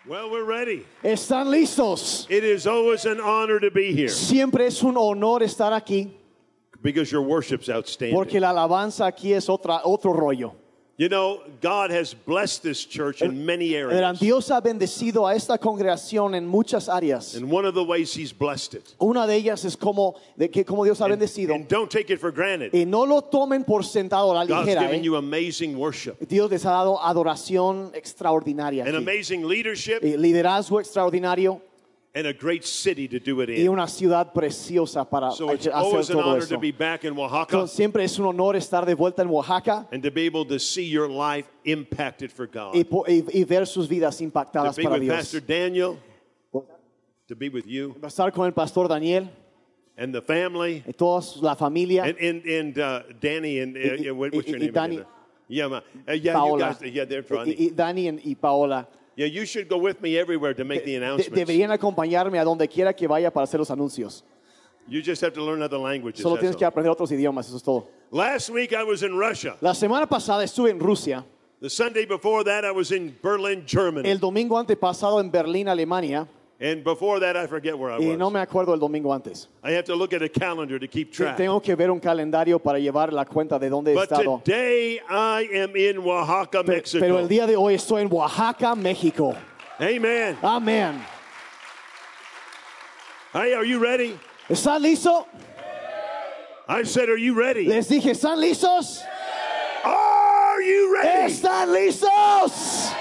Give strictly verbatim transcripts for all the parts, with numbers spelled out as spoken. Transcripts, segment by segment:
Well, we're ready. ¿Están listos? It is always an honor to be here Siempre es un honor estar aquí because your worship's outstanding. porque la alabanza aquí es otra, otro rollo. You know, God has blessed this church in many Verán, areas. Dios ha bendecido a esta congregación en muchas áreas. And one of the ways He's blessed it. Una de ellas es como, de que, como Dios ha And, bendecido. and don't take it for granted. Y no lo tomen por sentado a la God's ligera. given ¿eh? you amazing worship Dios les ha dado adoración extraordinaria and aquí. amazing leadership Y liderazgo extraordinario and a great city to do it y in. una ciudad preciosa para So it's hacer always an todo honor eso. to be back in Oaxaca Entonces, siempre es un honor estar de vuelta en Oaxaca and to be able to see your life impacted for God. y, po- y- y ver sus vidas To impactadas be para with Dios. Pastor Daniel, to be with you Estar con el pastor Daniel and the family. y toda la familia. And and, and uh, Danny and uh, Y- yeah, what, what's y- your y name Danny- again? Yeah, ma, uh, yeah, you Paola. guys, yeah, they're y, funny. y Dani en- y Paola. Yeah, you should go with me everywhere to make the De- announcements. deberían acompañarme a donde quiera que vaya para hacer los anuncios. You just have to learn other languages. Solo that's tienes que all. aprender otros idiomas, eso es todo. Last week I was in Russia. La semana pasada estuve en Rusia. The Sunday before that I was in Berlin, Germany. El domingo antepasado en Berlín, Alemania. And before that I forget where I Y was. no me acuerdo el domingo antes. I have to look at a calendar to keep track. Tengo que ver un calendario para llevar la cuenta de dónde he But estado. today I am in Oaxaca, Pe- Mexico. Pero el día de hoy estoy en Oaxaca, México. Amen. Amén. Hey, are you ready? ¿Están listos? I said, are you ready? Les dije, ¿están listos? Are you ready? ¿Están listos?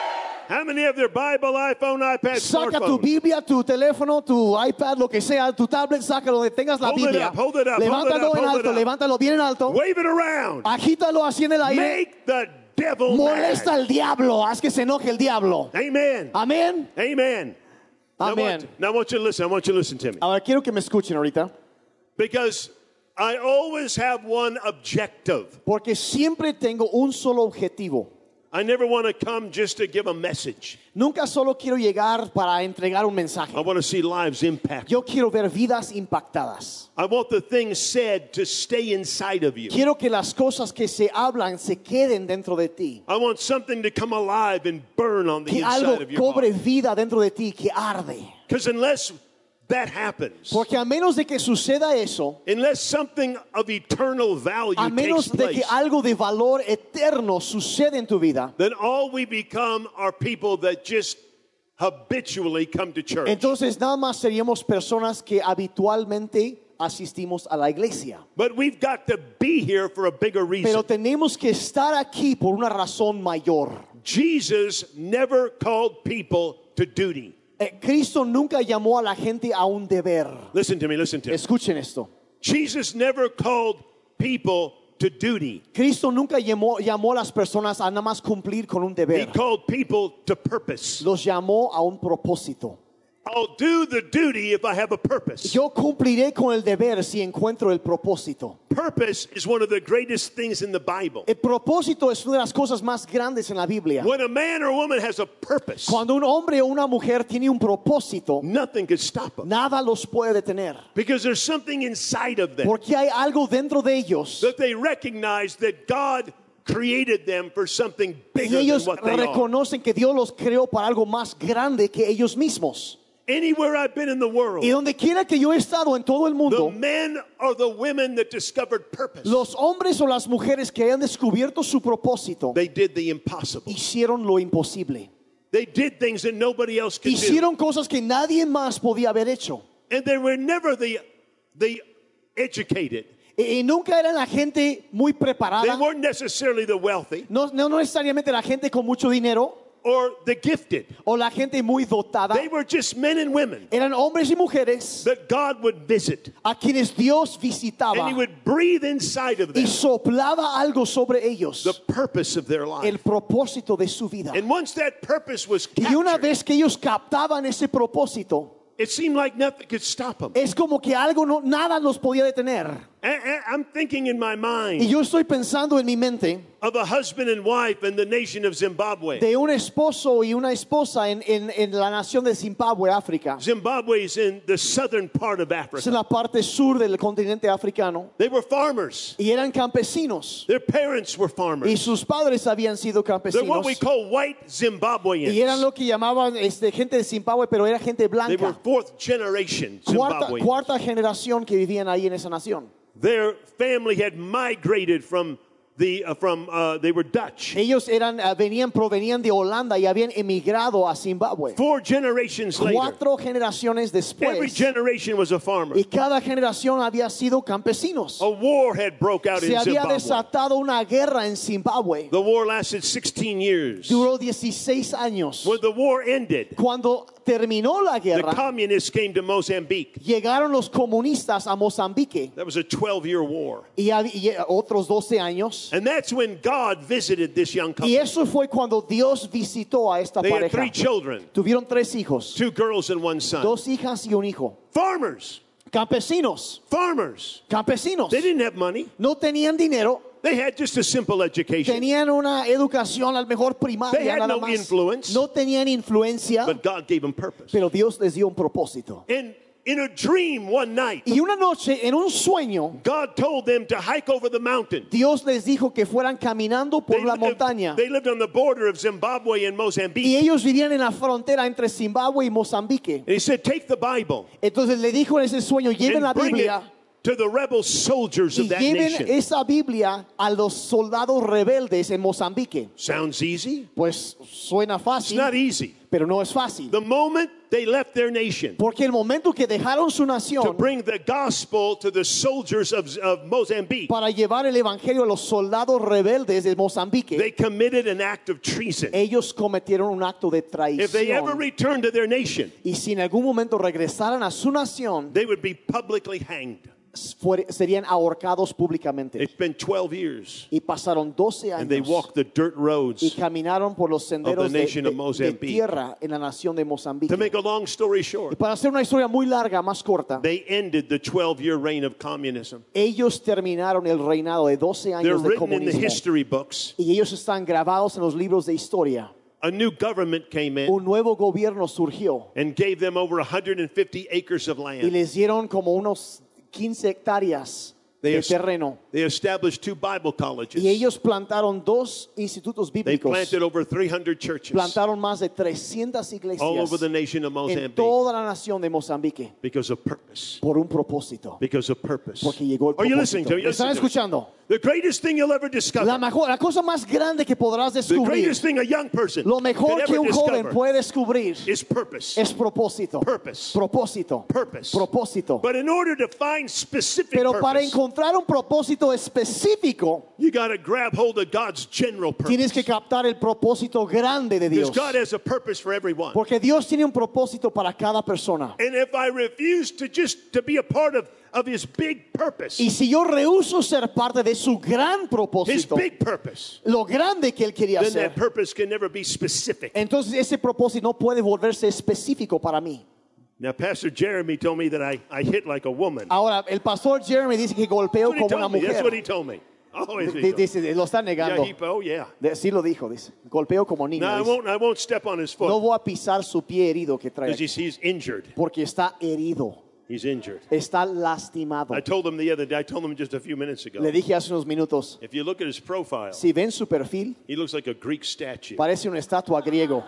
How many have their Bible, iPhone, iPad, Saca tu smartphone? Biblia, tu teléfono, tu iPad, lo que sea, tu tablet, saca donde tengas la Hold it Biblia. up, hold it up, hold it Levántalo up, en hold alto, it up. levántalo bien en alto. Wave it around. Agítalo así en el aire. Make the devil Molesta mad. al diablo, haz que se enoje el diablo. Amen. Amén. Amen. Now I, Amén. want, now I want you to listen. I want you to listen to me. Ahora quiero que me escuchen ahorita, Because I always have one objective. porque siempre tengo un solo objetivo. I never want to come just to give a message. Nunca solo quiero llegar para entregar un mensaje. I want to see lives impacted. Yo quiero ver vidas impactadas. I want the things said to stay inside of you. Quiero que las cosas que se hablan se queden dentro de ti. I want something to come alive and burn on the Que inside algo of your cobre heart. vida dentro de ti, que arde. Because unless that happens, Porque a menos de que suceda eso, unless something of eternal value a menos takes de que place, algo de valor eterno sucede en tu vida, then all we become are people that just habitually come to church. entonces nada más seríamos personas que habitualmente asistimos a la iglesia. But we've got to be here for a bigger reason. Pero tenemos que estar aquí por una razón mayor. Jesus never called people to duty. Eh, Cristo nunca llamó a la gente a un deber. Listen to me, listen to me. Escuchen esto. Jesus never called people to duty. Cristo nunca llamó, llamó a las personas a nada más cumplir con un He deber. called people to purpose. Los llamó a un propósito. I'll do the duty if I have a purpose. Yo cumpliré con el deber si encuentro el propósito. Purpose is one of the greatest things in the Bible. El propósito es una de las cosas más grandes en la Biblia. When a man or woman has a purpose, Cuando un hombre o una mujer tiene un propósito, nothing could stop them. nada los puede detener. Because there's something inside of them Porque hay algo dentro de ellos that they recognize that God created them for something y bigger than ellos what they are. reconocen que Dios los creó para algo más grande que ellos mismos. Anywhere I've been in the world, Y donde quiera que yo he estado en todo el the mundo, men or the women that discovered purpose, los hombres o las mujeres que hayan descubierto su propósito they did the impossible. hicieron lo imposible. They did things that nobody else could do. Hicieron cosas que nadie más podía haber hecho. And they were never the, the educated. Y, y nunca eran la gente muy They preparada. weren't necessarily the wealthy No, no no necesariamente la gente con mucho dinero or the gifted. o la gente muy dotada. They were just men and women Eran hombres y mujeres that God would visit. a quienes Dios And visitaba He would breathe inside of y them soplaba algo sobre ellos, the purpose of their life. el propósito de su vida. And once that purpose was Y una captured, vez que ellos captaban ese propósito, it seemed like nothing could stop them. es como que algo no, nada los podía detener. And, and I'm thinking in my Y mind yo estoy pensando en mi mente of a husband and wife in the nation of Zimbabwe. de un esposo y una esposa en, en, en la nación de Zimbabue, África. Zimbabwe is in the southern part of Es en Africa. la parte sur del continente africano. They were farmers. Y eran campesinos. Their parents were Y farmers. sus padres habían sido They're what we campesinos. call white Y eran Zimbabweans. lo que llamaban este, gente de Zimbabue, pero era gente They were blanca. fourth generation Cuarta, Zimbabweans. cuarta generación que vivían ahí en esa nación. Their family had migrated from the uh, from uh, they were Dutch. Ellos eran, uh, venían, provenían de Holanda y habían emigrado a Zimbabue. Four generations later, Cuatro generaciones every después, generation was a farmer. y cada generación había sido campesinos. A war had broke out Se in había Zimbabwe. desatado una guerra en Zimbabue. The war lasted sixteen years. Duró dieciséis años. When the war ended, Cuando terminó la the guerra, communists came to Mozambique. llegaron los comunistas a Mozambique That was a twelve-year war. y, hab- y otros doce años. And that's when God visited this young Y couple. eso fue cuando Dios visitó a esta They had pareja. three children, Tuvieron tres hijos, two girls and one son. dos hijas y un hijo. Farmers, Campesinos, farmers. campesinos. They didn't have money. No tenían dinero, They had just a simple education. tenían una educación al mejor They primaria had nada no más. influence. No tenían influencia, But God gave them purpose. pero Dios les dio un propósito. And in a dream one night, Y una noche, en un sueño, God told them to hike over the mountain. Dios les dijo que fueran caminando por They la lived, montaña. they lived on the border of Zimbabwe and Y Mozambique. ellos vivían en la frontera entre Zimbabue y Mozambique. And he said, take the Bible Entonces le dijo en ese sueño, lleven la and bring it Biblia to the rebel soldiers y of that lleven nation. esa Biblia a los soldados rebeldes en Mozambique. Sounds easy? Pues suena It's fácil, not easy. pero no es fácil. The moment they left their nation Porque el momento que dejaron su to nación bring the gospel to the soldiers of, of Mozambique, para llevar el evangelio a los soldados rebeldes de Mozambique, they committed an act of treason. ellos cometieron un acto de If they ever traición. returned to their nation, Y si en algún momento regresaran a su nación, they would be publicly hanged. fuer- serían ahorcados públicamente. It's been twelve years, Y pasaron doce and they años walked the dirt y roads. caminaron por los senderos de, nation de- of de Mozambique. tierra en la nación de Mozambique. To make a long story Y short, para hacer una historia muy larga, más corta, they ended the twelve-year reign of communism. ellos terminaron el reinado de doce They're años de written in the comunismo. history books. Y ellos están grabados en los libros de historia. A new government came in Un nuevo gobierno surgió and gave them over one hundred fifty acres of y land. les dieron como unos quince hectáreas They, de es- terreno. they established two Bible colleges. Y ellos plantaron dos institutos They bíblicos. planted over three hundred churches Plantaron más de trescientas all over iglesias the nation of en Mozambique toda la nación de Mozambique because of purpose. por un propósito. Because of purpose. Porque llegó el Are you listening propósito. to me? ¿Me están Listen to me. escuchando? The greatest thing you'll ever La, discover, mejor, la cosa más grande que podrás the descubrir, greatest thing a young person lo can mejor que ever un joven discover puede descubrir is purpose. es propósito. Purpose. Propósito. Purpose. Propósito. But in order to find specific Pero para purpose, encontrar un propósito específico, you got to grab hold of God's general purpose. tienes que captar el propósito grande de Because Dios. God has a purpose for everyone. Porque Dios tiene un propósito para cada persona. And if I refuse to just to be a part of, of his big purpose, Y si yo rehúso ser parte de su gran his propósito, big purpose, lo grande que él quería then hacer, that purpose can never be specific. entonces ese propósito no puede volverse específico para mí. Now, Pastor Jeremy told me that I, I hit like a woman. Ahora, el pastor Jeremy dice que golpeó That's what he como una told me. That's mujer. what he told me. Always he D- told me. Dice, lo está Yeah, negando. he, oh, yeah. De- sí lo dijo, dice. Golpeó como niño. No, I dice. won't, I won't step on his No foot voy a pisar su pie herido que trae. because he's, he's injured. Porque está herido. He's injured. Está lastimado. I told him the other day, I told him just a few minutes ago. Le dije hace unos minutos, If you look at his profile, si ven su perfil, he looks like a Greek statue. parece una estatua griego.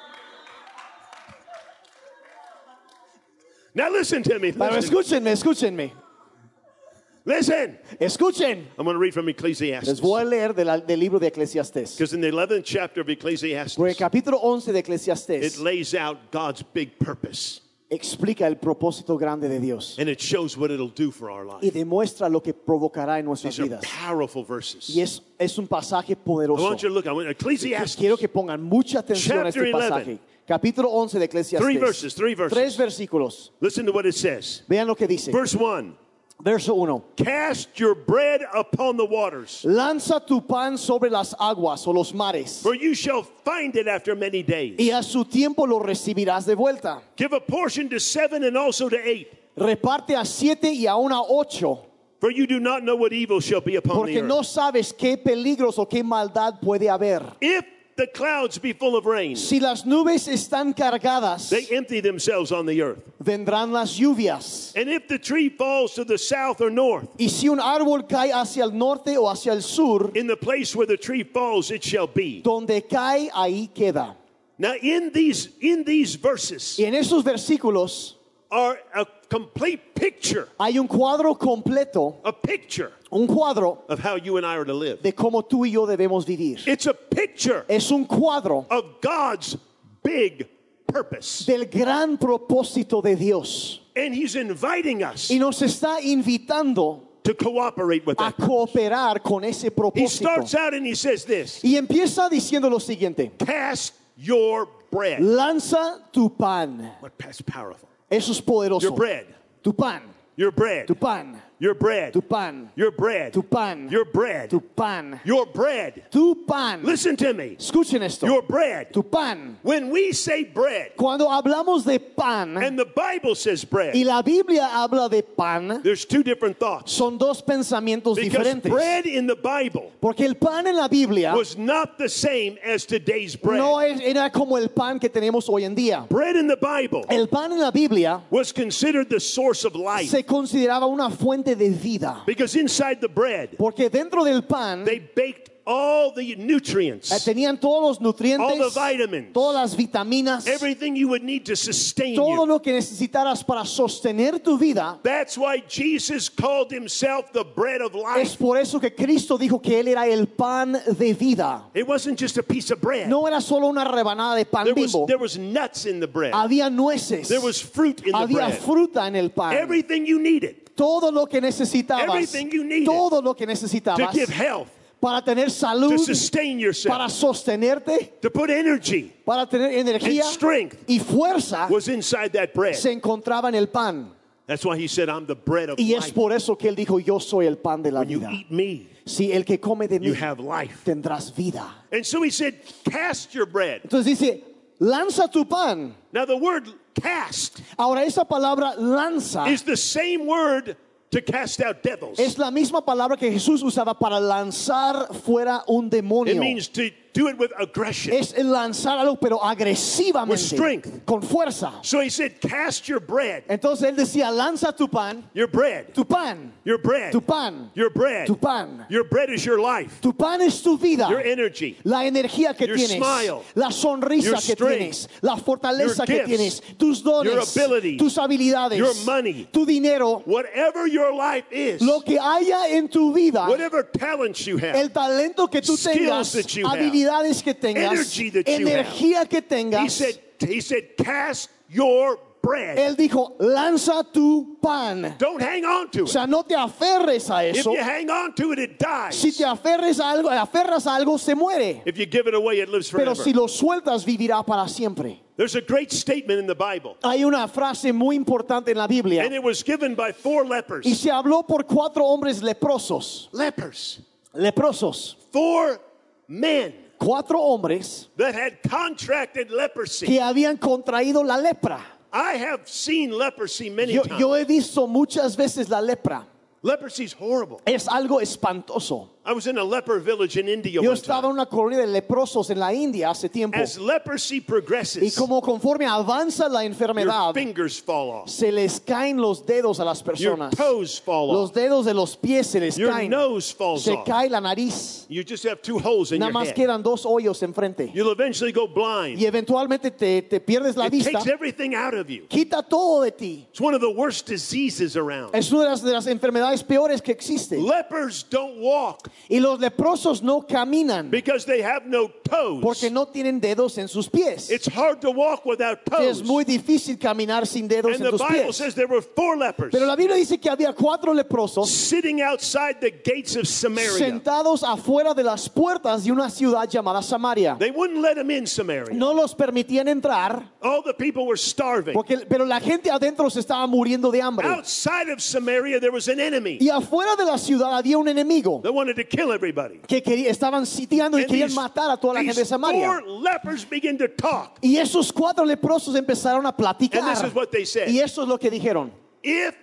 Now listen to me. Pero Listen. escúchenme, escúchenme. Listen. Escuchen. I'm going to read from Les Ecclesiastes. voy a leer de la- del libro de Eclesiastés. Because in the eleventh chapter of Ecclesiastes, Por el capítulo once de it Eclesiastés lays out God's big purpose. explica el propósito grande de Dios And it shows what it'll do for our y life. demuestra lo que provocará en nuestras These are vidas. powerful verses. Y es, es un pasaje I poderoso. want you to look. I want Ecclesiastes. Quiero que pongan mucha atención a este Chapter pasaje. Capítulo once de Eclesiastés. Three verses, three verses. Tres versículos. Listen to what it says. Vean lo que dice. Verse one. Verso uno. Cast your bread upon the waters, Lanza tu pan sobre las aguas o los mares, for you shall find it after many days. y a su tiempo lo recibirás de vuelta. Give a portion to seven and also to eight. Reparte a siete y aún a ocho, For For you do not know what evil shall be upon the Porque earth. no sabes qué peligros o qué maldad puede haber. If the clouds be full of rain, Si las nubes están cargadas, they empty themselves on the earth. vendrán las lluvias. And if the tree falls to the south or north, Y si un árbol cae hacia el norte o hacia el sur, in the place where the tree falls it shall be. donde cae, ahí queda. Now in these in these verses Y en esos versículos are a complete picture, hay un cuadro completo, a picture un cuadro of how you and I are to live. de cómo tú y yo debemos vivir. It's a picture Es un cuadro of God's big purpose. del gran propósito de Dios. And he's inviting us Y nos está invitando to cooperate with a that. cooperar con ese He propósito. starts out and he says this: Y empieza diciendo lo siguiente: cast your bread. lanza tu pan. What that's powerful. Eso es poderoso. Your bread. Tu pan, Your bread. tu pan, Your bread. tu pan, Your bread. tu pan, Your bread. tu pan, Your bread. tu pan. Listen to me. Escuchen esto. Your bread. Tu pan. When we say bread, Cuando hablamos de pan and the Bible says y bread, la Biblia habla de pan, there's two different thoughts. son dos pensamientos Because diferentes. bread in the Bible Porque el pan en la Biblia was not the same as today's bread. no es- era como el pan que tenemos hoy en día. Bread in the Bible El pan en la Biblia was considered the source of life. se consideraba una fuente de vida. Because inside the bread, Porque dentro del pan they baked all the eh, nutrients, tenían todos los all the nutrientes, vitamins, todas las vitaminas, everything you would need to sustain todo you. lo que necesitaras para sostener tu vida. That's why Jesus called himself the bread of Es life. por eso que Cristo dijo que Él era el pan de vida. It wasn't just a piece of bread. No era solo una rebanada de pan There was, bimbo. there was nuts in the bread. Había nueces. There was fruit in the Había bread. fruta en el pan. Everything you needed Todo lo que necesitabas. Everything you needed Todo lo que to necesitabas give health, para tener to salud, sustain para yourself, sostenerte, to put energy para tener energía and strength y fuerza was inside that bread. se encontraba en el pan. That's why he said, I'm the bread of Y es life. por eso que Él dijo, yo soy el pan de la When you vida. eat me, Si el que come de mí you have life. tendrás vida. And so he said, cast your bread. Entonces dice, lanza tu pan. Now the word cast Ahora esa palabra lanza is the same word to cast out devils. es la misma palabra que Jesús usaba para lanzar fuera un It demonio. means to do it with aggression. Es lanzar algo pero With agresivamente, strength. con fuerza. So he said, cast your bread. Entonces él decía, lanza tu pan, Your bread. tu pan, Your bread. tu pan, Your bread. tu pan. Your bread is your life. Tu pan es tu vida, Your energy. la energía que Your tienes, smile. la sonrisa Your que strength. tienes, la fortaleza Your que gifts. tienes, tus dones, Your abilities. tus habilidades, Your money. tu dinero, Whatever your life is, lo que haya en tu vida, whatever talents you have, el talento que tú skills tengas, that you have, habilidades que tengas, energy that you energía que he tengas. said, he said, cast your bread. Él dijo, lanza tu pan. Don't hang on to O it. sea, no te aferres a If eso. you hang on to it, it dies. Si te aferres a algo, aferras a algo, se muere. If you give it away, it lives Pero forever. si lo sueltas, vivirá para siempre. There's a great statement in the Bible, Hay una frase muy importante en la Biblia. and it was given by four lepers. Y se habló por cuatro hombres leprosos. Lepers. Leprosos. Four men Cuatro hombres that had contracted leprosy. que habían contraído la lepra. I have seen leprosy many Yo, times. yo he visto muchas veces la lepra. Leprosy's horrible. Es algo espantoso. I was in a leper village in India Yo one estaba time. en una colonia de leprosos en la India hace tiempo. As leprosy Y progresses, como conforme avanza la your enfermedad, fingers fall off. se les caen los dedos a las Your personas. toes fall Los off. dedos de los pies se les Your caen. nose falls Se off. cae la nariz. You just have two holes in Nada your más head. quedan dos hoyos enfrente. You'll eventually go blind. Y eventualmente te, te pierdes la It vista. takes everything out of you. Quita todo de ti. It's one of the worst diseases around. Es una de las, de las enfermedades peores que existe. Lepers don't walk Y los leprosos no caminan because they have no toes. porque no tienen dedos en sus pies. It's hard to walk without Es toes. muy difícil caminar sin dedos And en the tus Bible pies. says there were four lepers Pero la Biblia dice que había cuatro leprosos sitting outside the gates of Samaria. sentados afuera de las puertas de una ciudad llamada Samaria. They wouldn't let them in Samaria. No los permitían entrar, All the people were starving. porque, pero la gente adentro se estaba muriendo de hambre. Outside of Samaria, there was an enemy Y afuera de la ciudad había un enemigo that wanted to kill everybody. que quería- estaban sitiando y And querían these, matar a toda la gente de these Samaria. four lepers begin to talk. Y esos cuatro leprosos empezaron a And this platicar. is what they said. Y eso es lo que dijeron. If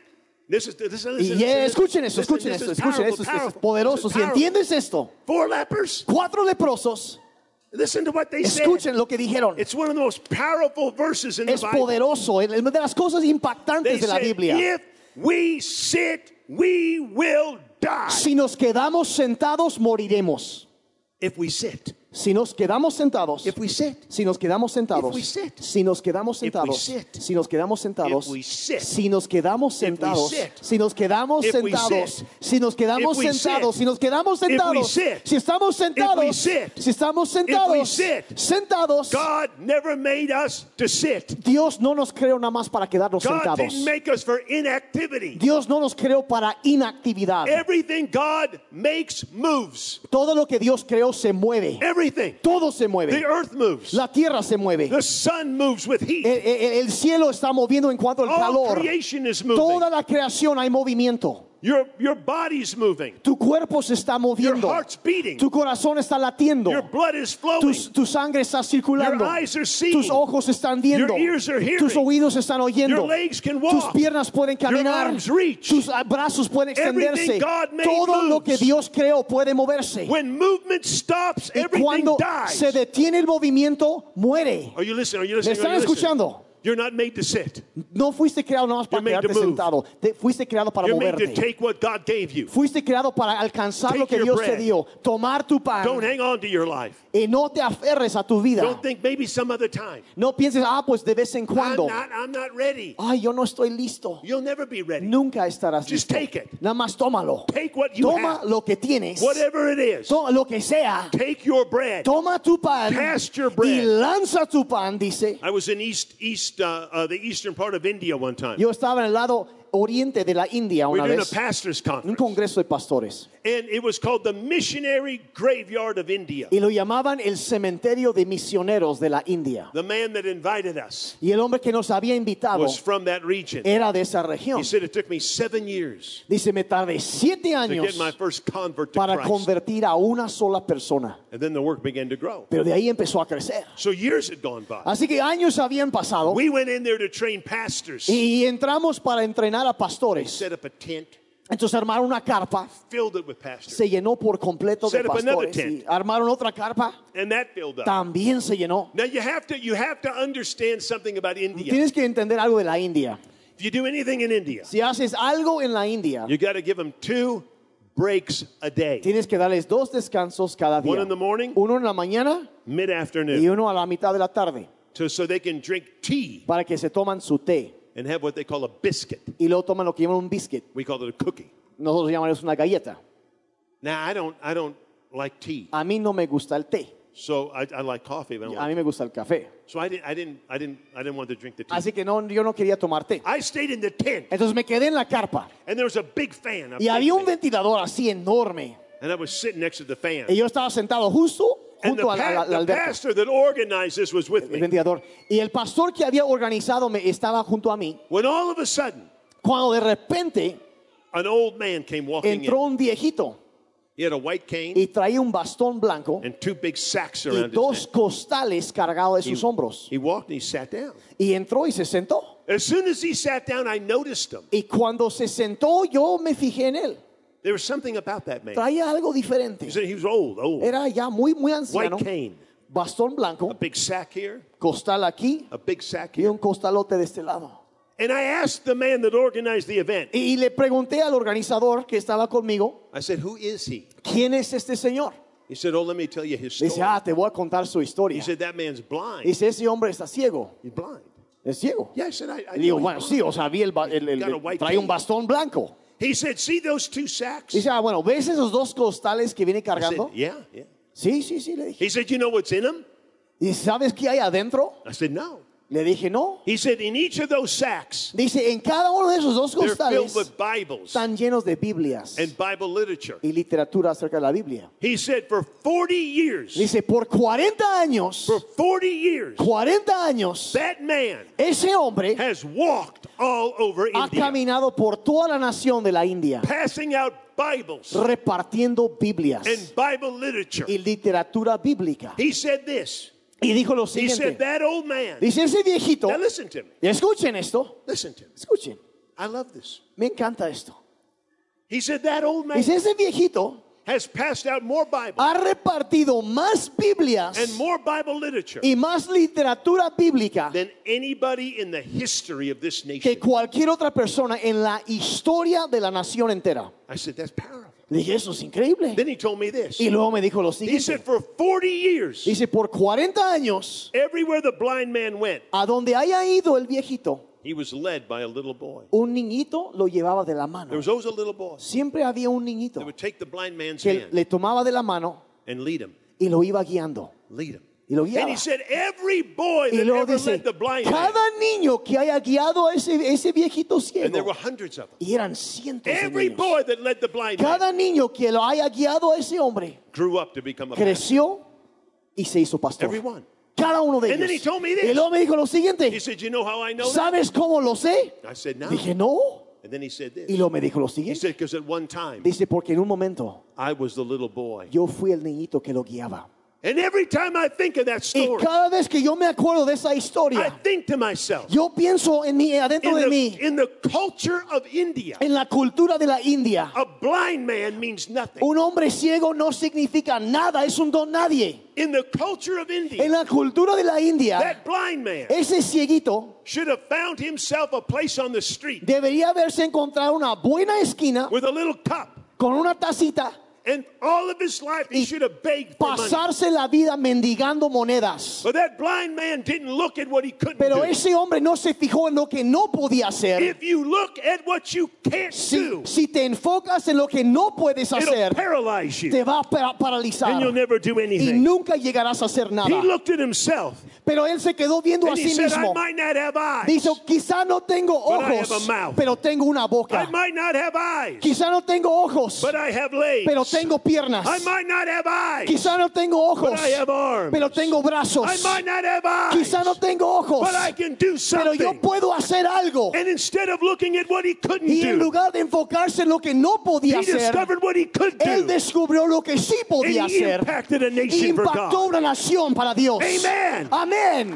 This is, this is, Y listen, yeah, listen, escuchen esto, listen, escuchen this esto, is escuchen powerful, esto, esto es powerful. poderoso. This Si is powerful. entiendes esto, Four lepers. cuatro leprosos, Listen to what they said. escuchen lo que dijeron. It's one of the most powerful verses in the Es Bible. poderoso, es de las cosas They impactantes de la said, Biblia. if we sit, we will die. Si nos quedamos sentados, moriremos. If we sit. Si nos quedamos sentados, If we sit. si nos quedamos sentados, If we sit. si nos quedamos If we sentados, sit. si nos quedamos sentados, If we sit. si nos quedamos If we sentados, sit. si nos quedamos If we sentados, sit. si nos quedamos If we sentados, sit. si nos quedamos If we sentados, sit. si estamos If we sentados, sit. si estamos If we sentados, sit. sentados, God never made us to sit. Dios no nos creó nada más para quedarnos God sentados. didn't make us for inactivity. Dios no nos creó para inactividad. Everything God makes moves. Todo lo que Dios creó se mueve. Everything. Todo se The mueve. earth moves. La tierra se mueve. The sun moves with heat. El, el- el cielo está moviendo en cuanto al All calor. creation is moving. Toda la creación hay movimiento. Your, your body's moving. Tu cuerpo se está Your moviendo. heart's beating. Tu corazón está latiendo. Your blood is flowing. Tu, tu sangre está circulando. Your eyes are seeing. Tus ojos están viendo. Your ears are hearing. Tus oídos están oyendo. Your legs can walk. Tus piernas pueden caminar. arms reach. Tus ah, brazos pueden extenderse. Everything God made Todo lo que moves. Dios creó puede moverse. When movement stops, Y everything cuando dies. se detiene el movimiento, muere. Are you listening? Are you ¿Me listening? están Are you listening? escuchando? You're not made to sit. No fuiste creado nada más para You're made to quedarte move. sentado. Te- fuiste creado para You're made to moverte. take what God gave you. Fuiste creado para alcanzar Take lo que your Dios te bread. dio. Tomar tu pan. Don't hang on to your life. Y no te aferres a tu vida. Don't think maybe some other time. No pienses, ah, pues de vez en I'm cuando. not, I'm not ready. Ay, yo no estoy listo. You'll never be ready. Nunca estarás Just listo. take it. Nada más tómalo. Take what you Toma have. lo que tienes. Whatever it is. Toma lo que sea. Take your bread. Toma tu pan. Cast your Y bread. lanza tu pan, dice. I was in East, East, uh, uh, the eastern part of India one time. Yo estaba en el lado oriente de la India We una were doing a vez. pastor's Un conference. congreso de pastores. And it was called the Missionary Graveyard of India. Y lo llamaban el cementerio de misioneros de la India. The man that invited us Y el hombre que nos había invitado was from that region. era de esa región. He said it took me seven years Dice, me tardé siete to años get my first convert to para Christ. convertir a una sola persona. And then the work began to grow. Pero de ahí empezó a crecer. So years had gone by. Así que años habían pasado We went in there to train pastors. y entramos para entrenar a pastores. Set up a tent, Entonces armaron una carpa, filled it with pastors. se llenó por completo de Set up another pastores. tent. Y armaron otra carpa, And that filled up. también se llenó. Now you have to you have to understand something about India. Tienes que entender algo de la India. If you do anything in India, Si haces algo en la India, you got to give them two breaks a day. tienes que darles dos descansos cada One día. in the morning, Uno en la mañana y mid-afternoon, uno a la mitad de la tarde, to, so they can drink tea para que se toman su té. and have what they call a biscuit. Y luego toman lo que llaman un biscuit. We call it a cookie. Nosotros llamamos una galleta. Now I don't I don't like tea, A mí no me gusta el té. so I, I like coffee. But I don't A like mí me gusta el café. So I didn't I didn't I didn't I didn't want to drink the tea. Así que no, yo no quería tomar té. I stayed in the tent, Entonces me quedé en la carpa. and there was a big fan. A Y big había un fan. ventilador así enorme. And I was sitting next to the fan. Y yo estaba sentado justo And the, junto a la, pa- la- la the alberca, pastor that organized this was with el me. ventilador. Y el pastor que había organizado me estaba junto a mí. When all of a sudden, Cuando de repente an old man came walking entró in. un viejito He had a white cane y traía un bastón blanco and two big sacks y around his dos neck. costales cargados de sus hombros. He walked and he sat down. Y entró y se sentó. As soon as he sat down, I noticed him. Y cuando se sentó, yo me fijé en él. There was something about that man. Traía algo diferente. He said he was old, old. Era ya muy, muy anciano. White cane, Bastón blanco, a big sack here, costal aquí a big sack y here. un costalote de este lado. And I asked the man that organized the event. Y le pregunté al organizador que estaba conmigo, I said, "Who is he?" ¿quién es este señor? He said, "Oh, let me tell you his story." Dice, ah, te voy a contar su He historia. said, "That man's blind. Dice, ese hombre está ciego. He's blind." Es ciego. Yeah, I said, "I, I Y digo, know he's bueno, blind." sí, o sea, vi el, ba- el- el- Got a white trae un cane. bastón blanco. He said, "See those two sacks?" Dice, ah, bueno, ¿ves esos dos costales que viene I said, cargando? "Yeah, yeah." Sí, sí, sí, le dije. He said, "You know what's in them?" ¿Y sabes qué hay adentro? I said, "No." Le dije, no. He said, "In each of those sacks, Dice, en cada uno de esos dos they're filled costales with Bibles están llenos de Biblias and Bible literature." y literatura acerca de la Biblia. He said, "For forty years, Dice, por cuarenta años, for forty years, cuarenta años, that man ese hombre has walked all over ha India, caminado por toda la nación de la India, passing out Bibles repartiendo Biblias and Bible literature." y literatura bíblica. He said this. Y dijo lo He said, siguiente. "That old man." Dice, ese viejito, Now listen to me. escuchen esto, Listen to me. escuchen. I love this. Me encanta esto. He said that old man Dice, ese viejito has passed out more Bible ha repartido más Biblias and more Bible literature y más literatura bíblica than anybody in the history of this que nation. cualquier otra persona en la historia de la nación entera. I said, that's powerful. Dije, eso es increíble. Then he told me this. Y luego me dijo lo He said, siguiente. for forty years, Dice, por cuarenta años, everywhere the blind man went, a donde haya ido el viejito, he was led by a little boy. un niñito lo llevaba de la mano. There was always a little boy Siempre había un niñito that would take the blind man's que hand le tomaba de la mano and lead him, y lo iba guiando. lead him. Y lo And guiaba. he said, every boy Y that luego ever dice, led the blind man, cada niño que haya guiado a ese, ese viejito and there were ciego, hundreds of them, y eran cientos de every niños, boy that led the blind man cada niño que lo haya guiado a ese hombre, grew up to become a pastor. creció y se hizo pastor. Every one. Cada uno de And then he ellos. told me this. Y luego me dijo lo He siguiente, said, you know how I know that? ¿sabes cómo lo sé? I said, no. Dije, no. And then he said this. Y luego me dijo lo He siguiente. said, because at one time, Dice, porque en un momento I was the little boy. yo fui el niñito que lo guiaba. And every time I think of that Y story, cada vez que yo me acuerdo de esa I historia, think to myself, yo pienso en mí, adentro in de the, mí, in the culture of India, en la cultura de la India. a blind man means nothing. Un hombre ciego no significa nada, es un don nadie. In the culture of India, En la cultura de la India, that blind man ese cieguito should have found himself a place on the street debería haberse encontrado una buena esquina with a little cup. con una tacita And all of his life, he y should have begged for money. pasarse la vida mendigando monedas. But that blind man didn't look at what he couldn't Pero do. ese hombre no se fijó en lo que no podía hacer. If you look at what you can't Si, do, si te enfocas en lo que no puedes it'll hacer, paralyze you, te va a para- and you'll paralizar never do y anything. nunca llegarás a hacer He nada. looked at himself, Pero él se quedó viendo a and he sí said, I mismo. might not have eyes. Dice, quizá no tengo But I have ojos, a mouth. pero tengo una I boca. might not have eyes, Quizá no tengo ojos, but I have legs. pero tengo piernas. I might not have eyes, Quizá no tengo but ojos, I have arms. pero tengo brazos. I might not have eyes, Quizá no tengo ojos, but I can do pero yo something. puedo hacer algo. And instead of looking at what he couldn't Y en do, lugar de enfocarse en lo que no podía he hacer, discovered what he could él do. descubrió lo que sí podía And he hacer. impacted a Y nation for impactó God. una nación para Dios. Amen. Amén.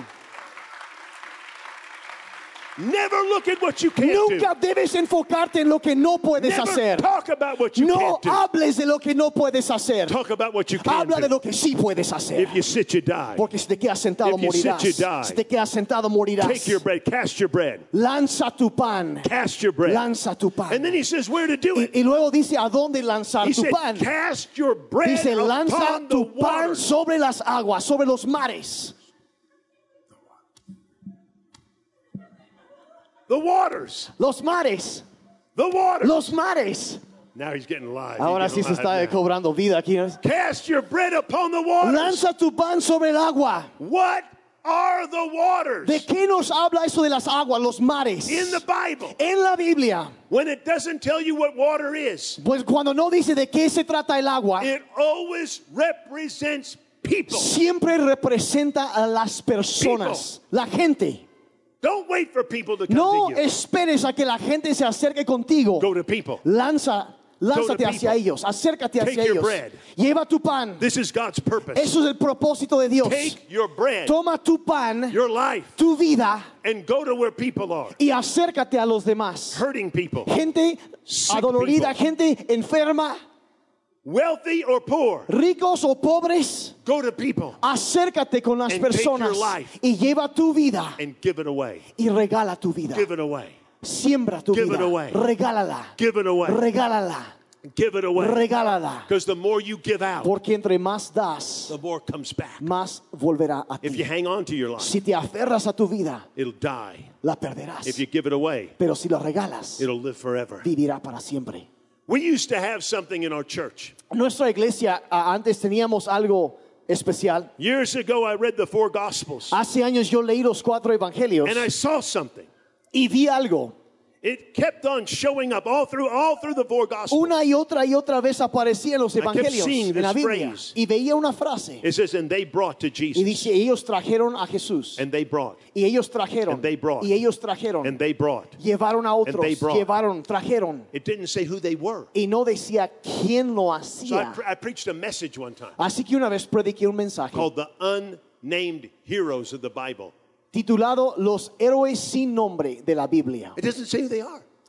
Never look at what you can't Nunca do. debes enfocarte en lo que no puedes Never hacer. talk about what you No can't do. hables de lo que no puedes hacer. Talk about what you can Habla de do. lo que sí puedes hacer. If you sit, you die. Porque si te quedas sentado If you sit, morirás. you die. Si te quedas sentado morirás. Take your bread, cast your bread, Lanza tu pan. cast your bread. Lanza tu pan. And then he says where to do Y, it. y luego dice a dónde lanzar He tu said, pan. cast your bread Dice lanza upon the tu pan waters. sobre las aguas, sobre los mares. The waters. Los mares. The waters. Los mares. Now he's getting live. Ahora He's sí se getting está live now. cobrando vida aquí. Cast your bread upon the waters. Lanza tu pan sobre el agua. What are the waters? ¿De qué nos habla eso de las aguas, los mares? In the Bible, En la Biblia, when it doesn't tell you what water is, pues cuando no dice de qué se trata el agua, it always represents people. siempre representa a las personas, la gente. Don't wait for people to come No to you. esperes a que la gente se acerque contigo. Go to people. Lanza, lánzate people. hacia ellos, acércate Take hacia your ellos. bread. Lleva tu pan. This is God's purpose. Eso es el propósito de Dios. Take your bread, Toma tu pan, your life, tu vida and go to where people are. y acércate a los demás. Hurting people, Gente Sick adolorida, people. gente enferma, wealthy or poor. ricos o pobres. Go to people Acércate con las And take personas your life. y lleva tu vida and give it away. y regala tu vida. Give it away. Siembra tu Give it vida. away. Regálala. Give it away. Regálala. Give it away. Regálala. Because the more you give out, Porque entre más das, the more comes back. más volverá a If ti. you hang on to your life, Si te aferras a tu vida, it'll die. la perderás. If you give it away, Pero si la regalas, it'll live forever. vivirá para siempre. We used to have something in our church. Nuestra iglesia ah, antes teníamos algo especial. Years ago, I read the four Gospels, Hace años yo leí los cuatro evangelios and I saw something. y vi algo. It kept on showing up all through all through the four Gospels. Una y otra y otra vez aparecía en los kept evangelios, seeing en la this Biblia. phrase. Y veía una frase. It says, and they brought to Y Jesus. dice, ellos trajeron a Jesús. And they brought. Y ellos trajeron. And they brought. Y ellos trajeron. And they brought. Llevaron a otros. they brought. Llevaron, trajeron. It didn't say who they were. Y no decía quién lo So I, hacía. pre- I preached a message one time Así que una vez prediqué un mensaje called The Unnamed Heroes of the Bible. titulado Los héroes sin nombre de la Biblia. It doesn't say who they are.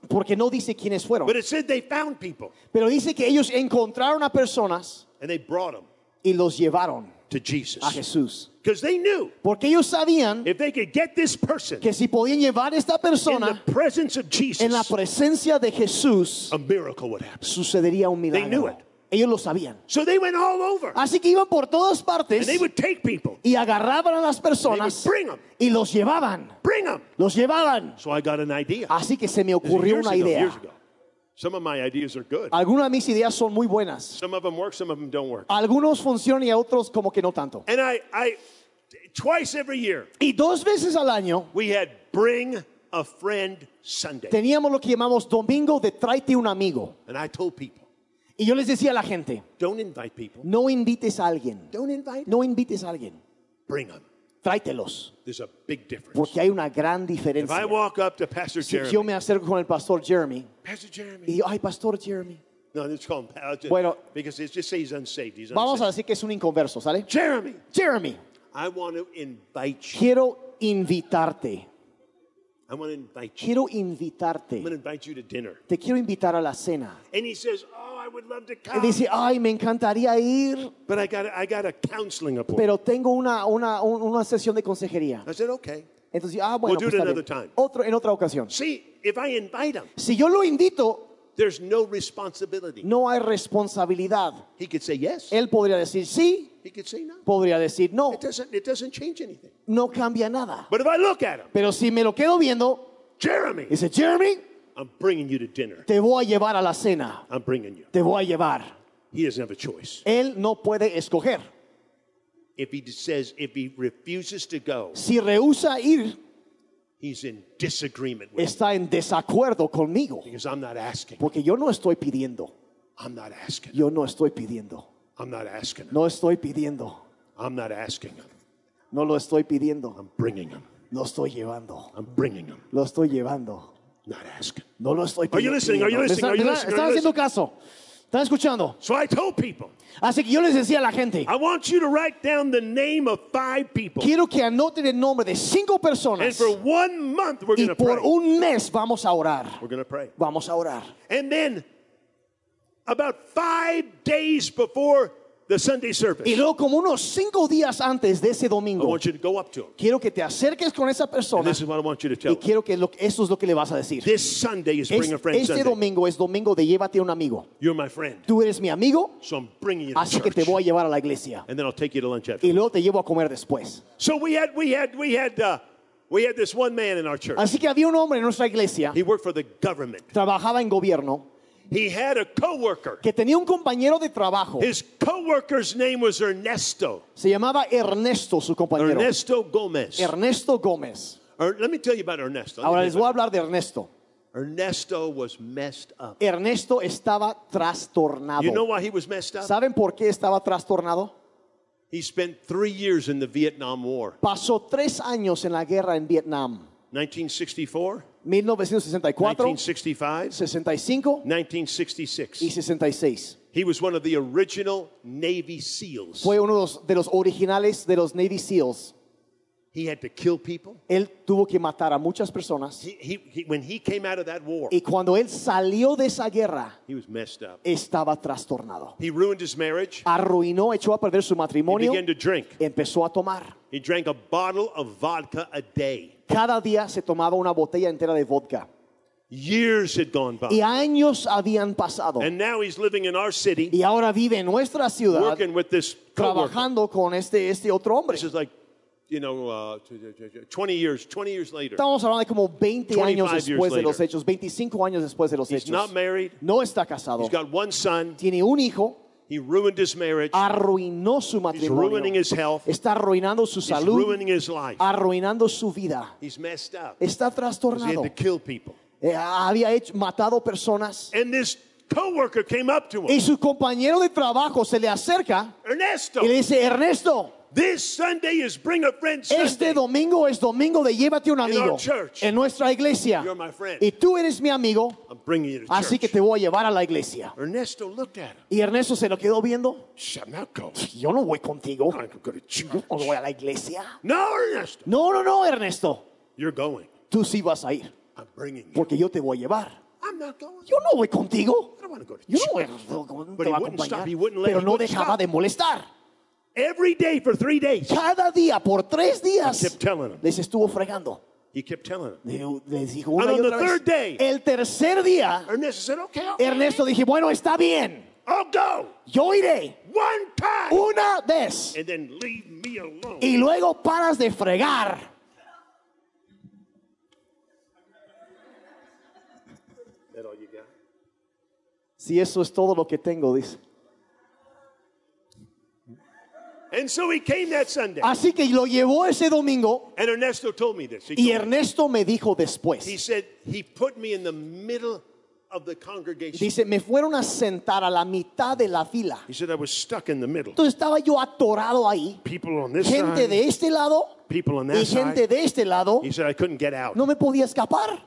Porque no dice quiénes fueron. But it said they found people Pero dice que ellos encontraron a personas and they brought them y los llevaron to Jesus. a Jesús. Because they knew Porque ellos sabían if they could get this person que si podían llevar a esta in persona the presence of en la Jesus, presencia de Jesús, a miracle would happen. sucedería un They knew milagro. it. Ellos lo sabían. So they went all over Así que iban por todas partes and they would take people, y agarraban a las personas They would bring 'em. y los llevaban. bring them. Los llevaban. So I got an idea. Así que se me This is ocurrió years una ago, idea. years ago. Some of my ideas are good. Algunas de mis ideas son muy buenas. Some of them work, some of them don't work. Algunos funcionan y otros como que no tanto. And I, I, twice every year, Y dos veces al año we had Bring a Friend Sunday. teníamos lo que llamamos Domingo de Tráete un Amigo. And I told people, Y yo les decía a la gente, don't invite people. no invites a alguien. Don't invite them. No invites a alguien. Bring them. Tráetelos. There's a big difference. Porque hay una gran If I diferencia. walk up to Pastor Si Jeremy, yo me acerco con el pastor Jeremy Pastor Jeremy. y digo, ay, pastor Jeremy. No, let's call him. I'll just- Bueno. because it's just say he's unsaved. He's Vamos a unsaved. decir que es un inconverso, ¿sale? Jeremy, Jeremy, I want to invite you. quiero invitarte. I want to invite you. Quiero I'm invitarte. going to invite you to dinner. Te quiero invitar a la cena. And he says, oh, I would love to Y come. dice, ay, me encantaría ir, But I got a, I got a counseling appointment. pero tengo una, una, un- una sesión de consejería. I said, okay. Entonces, ah, bueno, We'll do pues it está another bien. time. Otro, en otra ocasión. See, if I invite him, Si yo lo invito, there's no responsibility. no hay responsabilidad. He could say yes. Él podría decir sí, He could say no. podría decir no. It doesn't, it doesn't change anything. No cambia nada. But if I look at him, Pero si me lo quedo viendo, Jeremy, dice, Jeremy, I'm bringing you to dinner. te voy a llevar a la cena. I'm bringing you. Te voy a llevar. He doesn't have a choice. Él no puede escoger. If he says, if he refuses to go, Si rehúsa ir, he's in disagreement with me está en desacuerdo conmigo. because I'm not asking. Porque yo no estoy pidiendo. I'm not asking. Yo no estoy pidiendo. I'm not asking. No estoy pidiendo. I'm not asking him. No lo estoy pidiendo. I'm bringing him. Lo estoy llevando. I'm bringing him. Lo estoy llevando. Not asking. No lo estoy pidiendo. Are you listening? Are you listening? ¿Me Are you están- listening? ¿Están Are you haciendo caso? ¿Están escuchando? So I told people, Así que yo les decía a la gente, I want you to write down the name of five people. quiero que anoten el nombre de cinco And personas for one month, we're y going to por pray. un mes vamos a orar. We're going to pray. Vamos a orar. And then, about five days before the Sunday service, Y luego como unos cinco días antes de ese I domingo, want you to go up to him. quiero que te acerques con esa And persona this is what I want you to tell y him. quiero que lo- eso es lo que le vas a decir. This Sunday is Bring Es- a Friend este Sunday. domingo es domingo de llévate a un amigo. You're my friend. Tú eres mi amigo, So I'm bringing you to así que te church. voy a llevar a la iglesia. And then I'll take you to lunch after. Y luego te llevo a comer después. So we had, we had, we had, uh, we had this one man in our church. Así que había un hombre en nuestra iglesia, He worked for the government. trabajaba en gobierno, He had a coworker. que tenía un compañero de trabajo. His coworker's name was Ernesto. Se llamaba Ernesto, su compañero. Ernesto Gomez. Ernesto Gómez. Er, let me tell you about Ernesto. Let me Ahora tell les you voy a about hablar de Ernesto. Ernesto was messed up. Ernesto estaba trastornado. You know why he was messed up? ¿Saben por qué estaba trastornado? He spent three years in the Vietnam War. Pasó tres años en la guerra en Vietnam. nineteen sixty-four, mil novecientos sesenta y cuatro, nineteen sixty-five, sesenta y cinco nineteen y sixty-six. sesenta y seis. He was one of the original Navy SEALs. Fue uno de los, de los originales de los Navy SEALs. He had to kill people. Él tuvo que matar a muchas personas. He, he, he, when he came out of that war, Y cuando él salió de esa guerra, he was messed up. estaba trastornado. He ruined his marriage. Arruinó, echó a perder su He matrimonio. began to drink. Empezó a tomar. He drank a bottle of vodka a day. Cada día se tomaba una botella entera de vodka. Years had gone by. Y años habían pasado. And now he's living in our city, Y ahora vive en nuestra ciudad working with this coworker. trabajando con este, este otro hombre. This is like, you know, uh, twenty years, twenty years later. Estamos hablando de como veinte años twenty-five years después de los later. hechos, veinticinco años después de los He's hechos. not married. No está casado. He's got one son. Tiene un hijo. He ruined his marriage. Arruinó su He's matrimonio. ruining his health. Está arruinando su He's salud. ruining his life. Arruinando su vida. He's messed up. Está 'Cause he trastornado. had to kill people. Eh, había hecho, matado personas. And this coworker came up to Y him. su compañero de trabajo se le acerca Ernesto, y le dice, Ernesto, this Sunday is Bring a Friend este Sunday. domingo es domingo de llévate un In amigo our church. en nuestra iglesia. You're my friend. Y tú eres mi amigo, I'm bringing you to así church. que te voy a llevar a la iglesia. Ernesto looked at him. Y Ernesto se lo quedó viendo. Shh, I'm not going. Yo no voy contigo. I'm going to church. Yo no voy a la iglesia. No, Ernesto. No, no, no, Ernesto. You're going. Tú sí vas a ir, I'm bringing you. porque yo te voy a llevar. I'm not going. yo no voy contigo. I don't want to go to Yo church. no voy, no, no But te he voy a wouldn't stop. acompañar. He wouldn't let- Pero he no wouldn't dejaba stop. de molestar. Every day for three days. Cada día, por tres días, I kept telling him. les estuvo fregando. He kept telling him. Le- Les dijo una And y on otra the vez. third day- El tercer día, Ernesto said, okay, okay. Ernesto dije, bueno, está bien. I'll go. Yo iré One time. una vez. And then leave me alone. Y luego paras de fregar. That all you got? Si eso es todo lo que tengo, dice. And so he came that Sunday. Así que lo llevó ese domingo And Ernesto told me this. He, y told me, Ernesto me dijo después. he said he put me in the middle of the congregation. Dice, me fueron a sentar a la mitad de la fila. He said I was stuck in the middle. Entonces estaba yo atorado ahí. People on this Gente side, de este lado people on y that gente side. de este lado. He said I couldn't get out. No me podía escapar.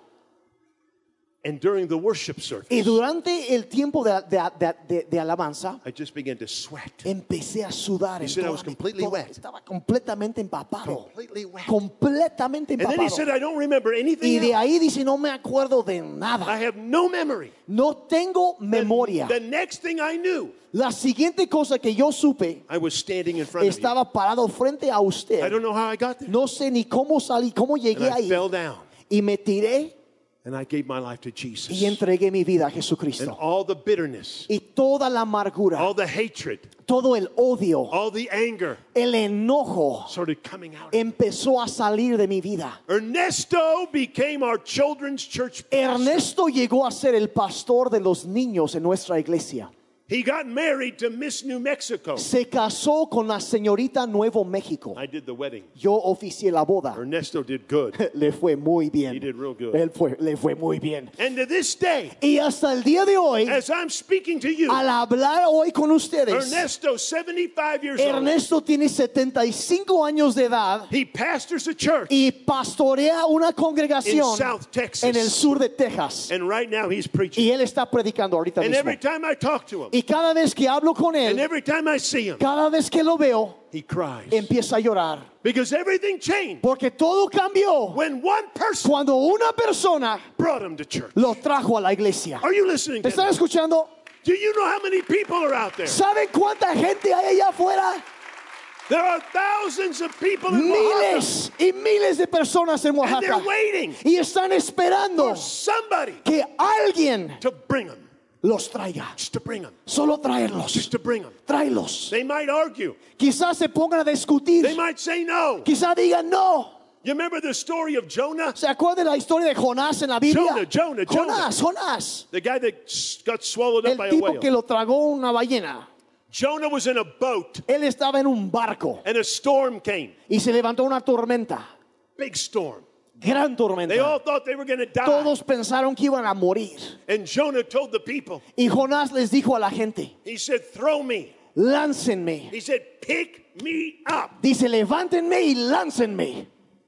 And during the worship service, Y durante el tiempo de, de- de- de- de alabanza, I just began to sweat. empecé a sudar. He en said I toda was mi- completely toda- wet. Estaba completamente empapado. Completely wet. Completamente And then he empapado. said I don't remember Y anything de else. ahí dice, no me acuerdo de I nada. have no memory. No tengo The- memoria. The next thing I knew, La siguiente cosa que yo supe, I was standing in front of you. estaba parado frente a I usted. don't know how I got there. No sé ni cómo salí, cómo And llegué I ahí. fell down. Y me tiré And I gave my life to Jesus. y entregué mi vida a And Jesucristo. all the bitterness, Y toda la amargura, all the hatred, todo el odio, all the anger el enojo started coming out. empezó a salir de mi vida. Ernesto became our children's church pastor. Ernesto llegó a ser el pastor de los niños en nuestra iglesia. He got married to Miss New Mexico. Se casó con la señorita Nuevo México. I did the wedding. Yo oficié la boda. Ernesto did good. Le fue muy bien. He did real good. Él fue, le fue muy bien. And to this day, Y hasta el día de hoy, as I'm speaking to you, al hablar hoy con ustedes, Ernesto, seventy-five years old, Ernesto tiene setenta y cinco años de edad he pastors a church y pastorea una in congregación South Texas. en el sur de Texas. And right now he's preaching. Y él está predicando ahorita And mismo. every time I talk to him, Y cada vez que hablo con and él, every time I see him, cada vez que lo veo, he cries. empieza a llorar. Because everything changed Porque todo cambió when one person cuando una persona brought him to church. lo trajo a la iglesia. Are you listening to ¿Me están me? escuchando? Do you know how many people are out there? ¿Saben cuánta gente hay allá afuera? There are thousands of people in Oaxaca, Miles y miles de personas en and Oaxaca. they're waiting Y están esperando for somebody que alguien to bring them. los traiga. Just to bring them. Solo traerlos. Just to bring them. Tráelos. They might argue. Quizás se pongan a discutir. They might say no. Quizás digan no. You remember the story of Jonah? ¿Se acuerdan de la historia de Jonás en la Biblia? Jonah, Jonah, Jonah. Jonás, Jonás. The guy that s- got swallowed up El by a tipo que whale. lo tragó una ballena. Jonah was in a boat Él estaba en un barco and a storm came. y se levantó una tormenta. Big storm. Gran They all tormenta. thought they were going to die. Todos pensaron que iban a morir. And Jonah told the people, Y Jonás les dijo a la gente, he said, throw me. láncenme. He said, pick me up. Dice, levántenme y láncenme.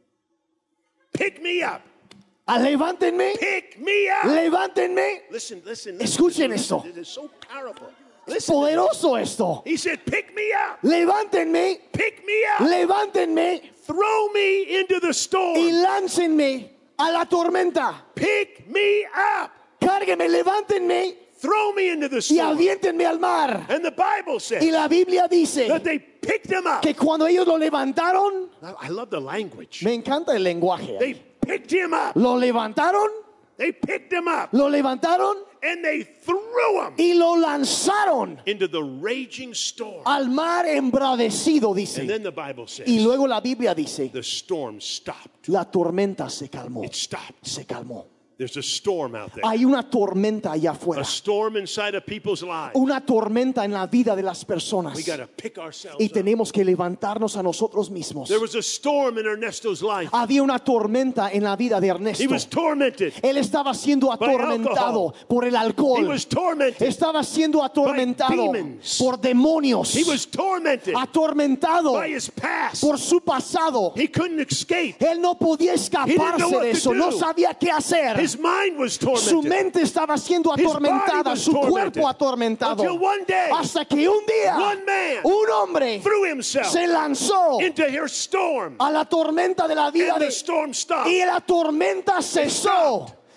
Pick me up. Ah, levántenme, Pick me up. levántenme. Listen, listen. Escuchen listen, esto. It is so powerful. Es Listen. poderoso esto. He said, pick me up. Levántenme, Pick me up. levántenme Throw me into the y storm. láncenme a la tormenta. Pick me up. Cárguenme, levántenme Throw me into the y storm. aviéntenme al mar. And the Bible Y says la Biblia dice that they picked him up. que cuando ellos lo levantaron, I love the language. me encanta el lenguaje. They picked him up. Lo levantaron, They picked him up lo levantaron and they threw him y lo lanzaron into the raging storm. al mar embravecido, And dice. then the Bible says Y luego la Biblia dice, the storm stopped. la tormenta se calmó. It stopped. Se calmó. There's a storm out there. Hay una tormenta allá afuera. A storm inside of people's lives. Una tormenta en la vida de las personas. We got to pick ourselves Y up. tenemos que levantarnos a nosotros mismos. There was a storm in Ernesto's life. Había una tormenta en la vida de He Ernesto. was tormented. Él estaba siendo atormentado por el He alcohol. was tormented. Estaba siendo atormentado by demons. por demonios. He was tormented Atormentado by his past. por su pasado. He couldn't escape. Él no podía He didn't know escaparse what de to eso. No do. sabía qué hacer. His mind was Su tormented. mente estaba siendo His body atormentada, was su tormented. cuerpo atormentado. Until one day, Hasta que un día one man un hombre threw himself se lanzó into her storm. a la tormenta de la vida And de, the storm stopped. y la tormenta cesó.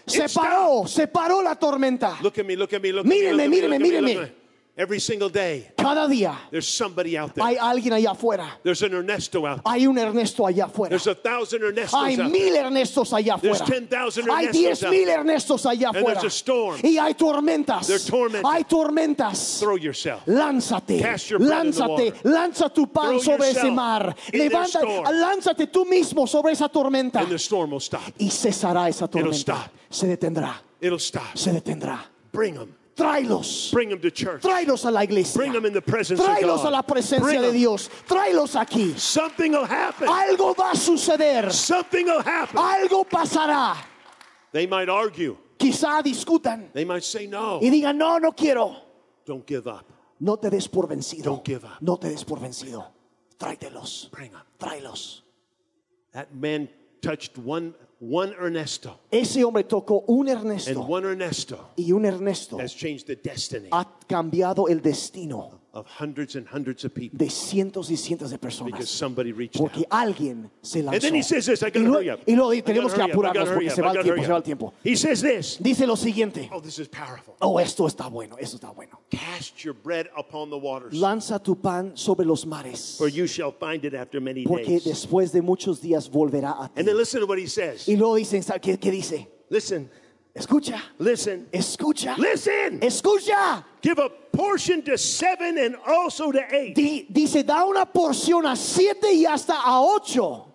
Se It paró, se paró la tormenta. Look at me, look at me, look Míreme, at me. míreme, look at me, míreme. look at me. Every single day, Cada día there's somebody out there. hay alguien allá afuera. There's an Ernesto out there. Hay un Ernesto allá afuera. There's a thousand Ernestos Hay out there. mil Ernestos allá There's afuera. ten thousand Hay Ernestos diez out mil there. Ernestos allá And afuera. there's a storm. Y hay tormentas. They're tormented. Hay tormentas. Throw yourself. Lánzate, Cast your bread in the lánzate, water. lanza tu pan Throw sobre ese yourself mar. in their Levanta, storm. lánzate tú mismo sobre esa tormenta. And the storm will stop. Y cesará esa tormenta. stop. Se detendrá, It'll stop. se detendrá. Bring them. Tráelos. Bring them to church. Tráelos a la iglesia. Bring them in the presence of Tráelos God. a la presencia Bring de them. Dios. Tráelos aquí. Something will happen. Algo va a suceder. Something will happen. Algo pasará. They might argue. Quizá discutan They might say no. y digan, no, no quiero. Don't give up. No te des por vencido. Don't give up. No te des por vencido. Tráetelos. Bring them. Tráelos. That man touched one, one Ernesto. Ese hombre tocó un And Ernesto. one Ernesto Y un Ernesto has changed the destiny ha cambiado el destino of hundreds and hundreds of people de cientos y cientos de because personas. somebody reached Porque out. alguien se lanzó. And then he says this, I Y gotta luego, hurry up. y luego I tenemos gotta que hurry up, I apurarnos gotta hurry porque up, se I va el gotta tiempo, hurry se va el up. tiempo. He says this. Dice lo siguiente. Oh, this is powerful. Oh, esto está bueno, esto está bueno. Cast your bread upon the waters, Lanza tu pan sobre los mares, for you shall find it after many porque days. después de muchos días volverá a ti. And then listen to what he says. Y luego dicen, ¿sabe ¿qué, qué dice? Listen, Escucha, listen, escucha, listen. escucha. Give a portion to seven and also to eight. Di- dice, da una porción a siete y hasta a ocho.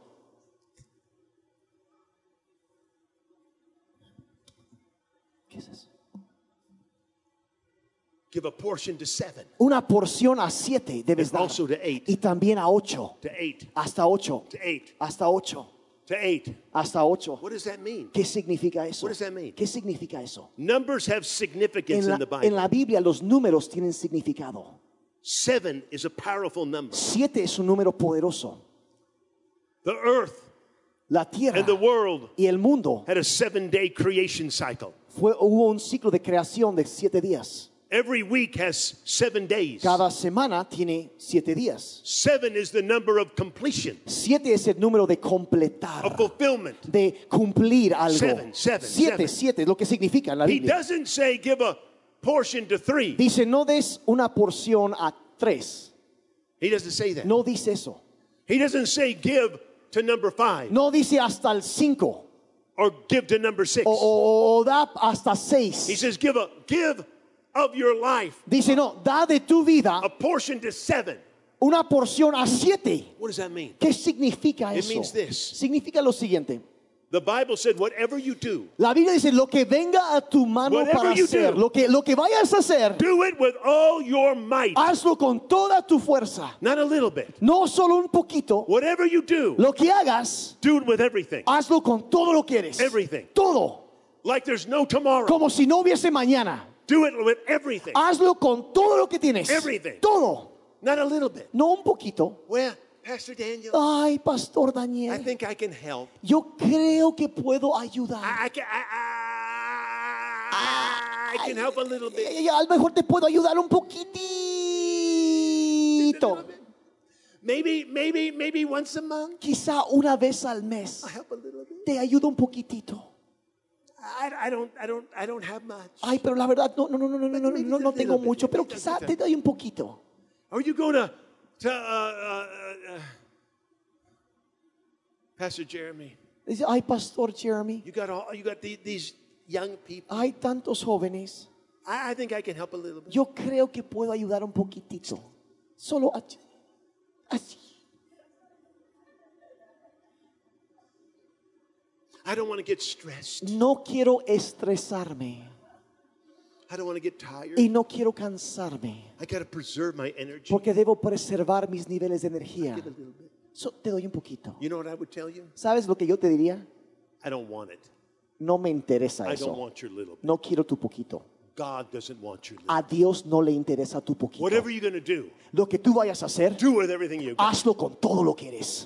¿Qué es eso? Give a portion to seven, Una porción a siete debes and dar. also to eight. Y también a ocho. To eight. Hasta ocho. To eight. Hasta ocho. To eight. Hasta ocho. What does that mean? ¿Qué significa eso? What does that mean? ¿Qué significa eso? Numbers have significance En in the la, Bible. en la Biblia los números tienen significado. Seven is a powerful number. Siete es un número poderoso. The earth La tierra and the world y el mundo had a seven-day creation cycle. fue, hubo un ciclo de creación de siete días. Every week has seven days. Cada semana tiene siete días. Seven is the number of completion, Siete es el número de completar, of fulfillment. de cumplir algo. Seven, seven, siete, seven. siete es lo que significa en la He Biblia. doesn't say give a portion to three. Dice, no des una porción a tres. He doesn't say that. No dice eso. He doesn't say give to number five No dice hasta el cinco. or give to number six. O, o- o da hasta He seis. says give a give of your life Dice, no, da de tu vida a portion to seven. una porción a siete. What does that mean? ¿Qué significa It eso? means this. Significa lo siguiente. The Bible said whatever you do, La Biblia dice, lo que venga a tu mano Whatever para you hacer, do. lo que, lo que vayas a hacer, do it with all your might. hazlo con toda tu fuerza. Not a little bit. No solo un poquito. Whatever you do, Lo que hagas, do it with everything. hazlo con todo lo que eres. Everything. Todo. Like there's no tomorrow. Como si no hubiese mañana. Do it with everything. Hazlo con todo lo que tienes. Everything. Todo. Not a little bit. No un poquito. Well, Pastor Daniel, Ay, Pastor I Daniel. think I can help. Yo creo que puedo ayudar. I, I can, I, I, I can help a little bit. Ay, a lo mejor te puedo ayudar un poquitito. Maybe, maybe, maybe once a month. Quizá una vez al mes. I help a little bit. Te ayudo un poquitito. I, I don't, I don't, I don't have much. Ay, pero la verdad no, no, no, no, no, no, no, no tengo mucho, pero quizá te doy un poquito. Or you go to, to uh, uh, uh, Pastor Jeremy. Dice, ay, Pastor Jeremy, You got all, you got the, these young people. hay tantos jóvenes. I, I think I can help a little bit. Yo creo que puedo ayudar un poquitito. Solo así. así. I don't want to get stressed. No quiero estresarme I don't want to get tired. y no quiero cansarme I got to preserve my energy. porque debo preservar mis niveles de energía. Give a little bit. So, te doy un poquito. You know what I would tell you? ¿Sabes lo que yo te diría? I don't want it. No me interesa I don't eso. want your little bit. No quiero tu poquito. God doesn't want your little. A Dios no le interesa tu poquito. Whatever you're going to do, Lo que tú vayas a hacer, do with everything you got. hazlo con todo lo que eres.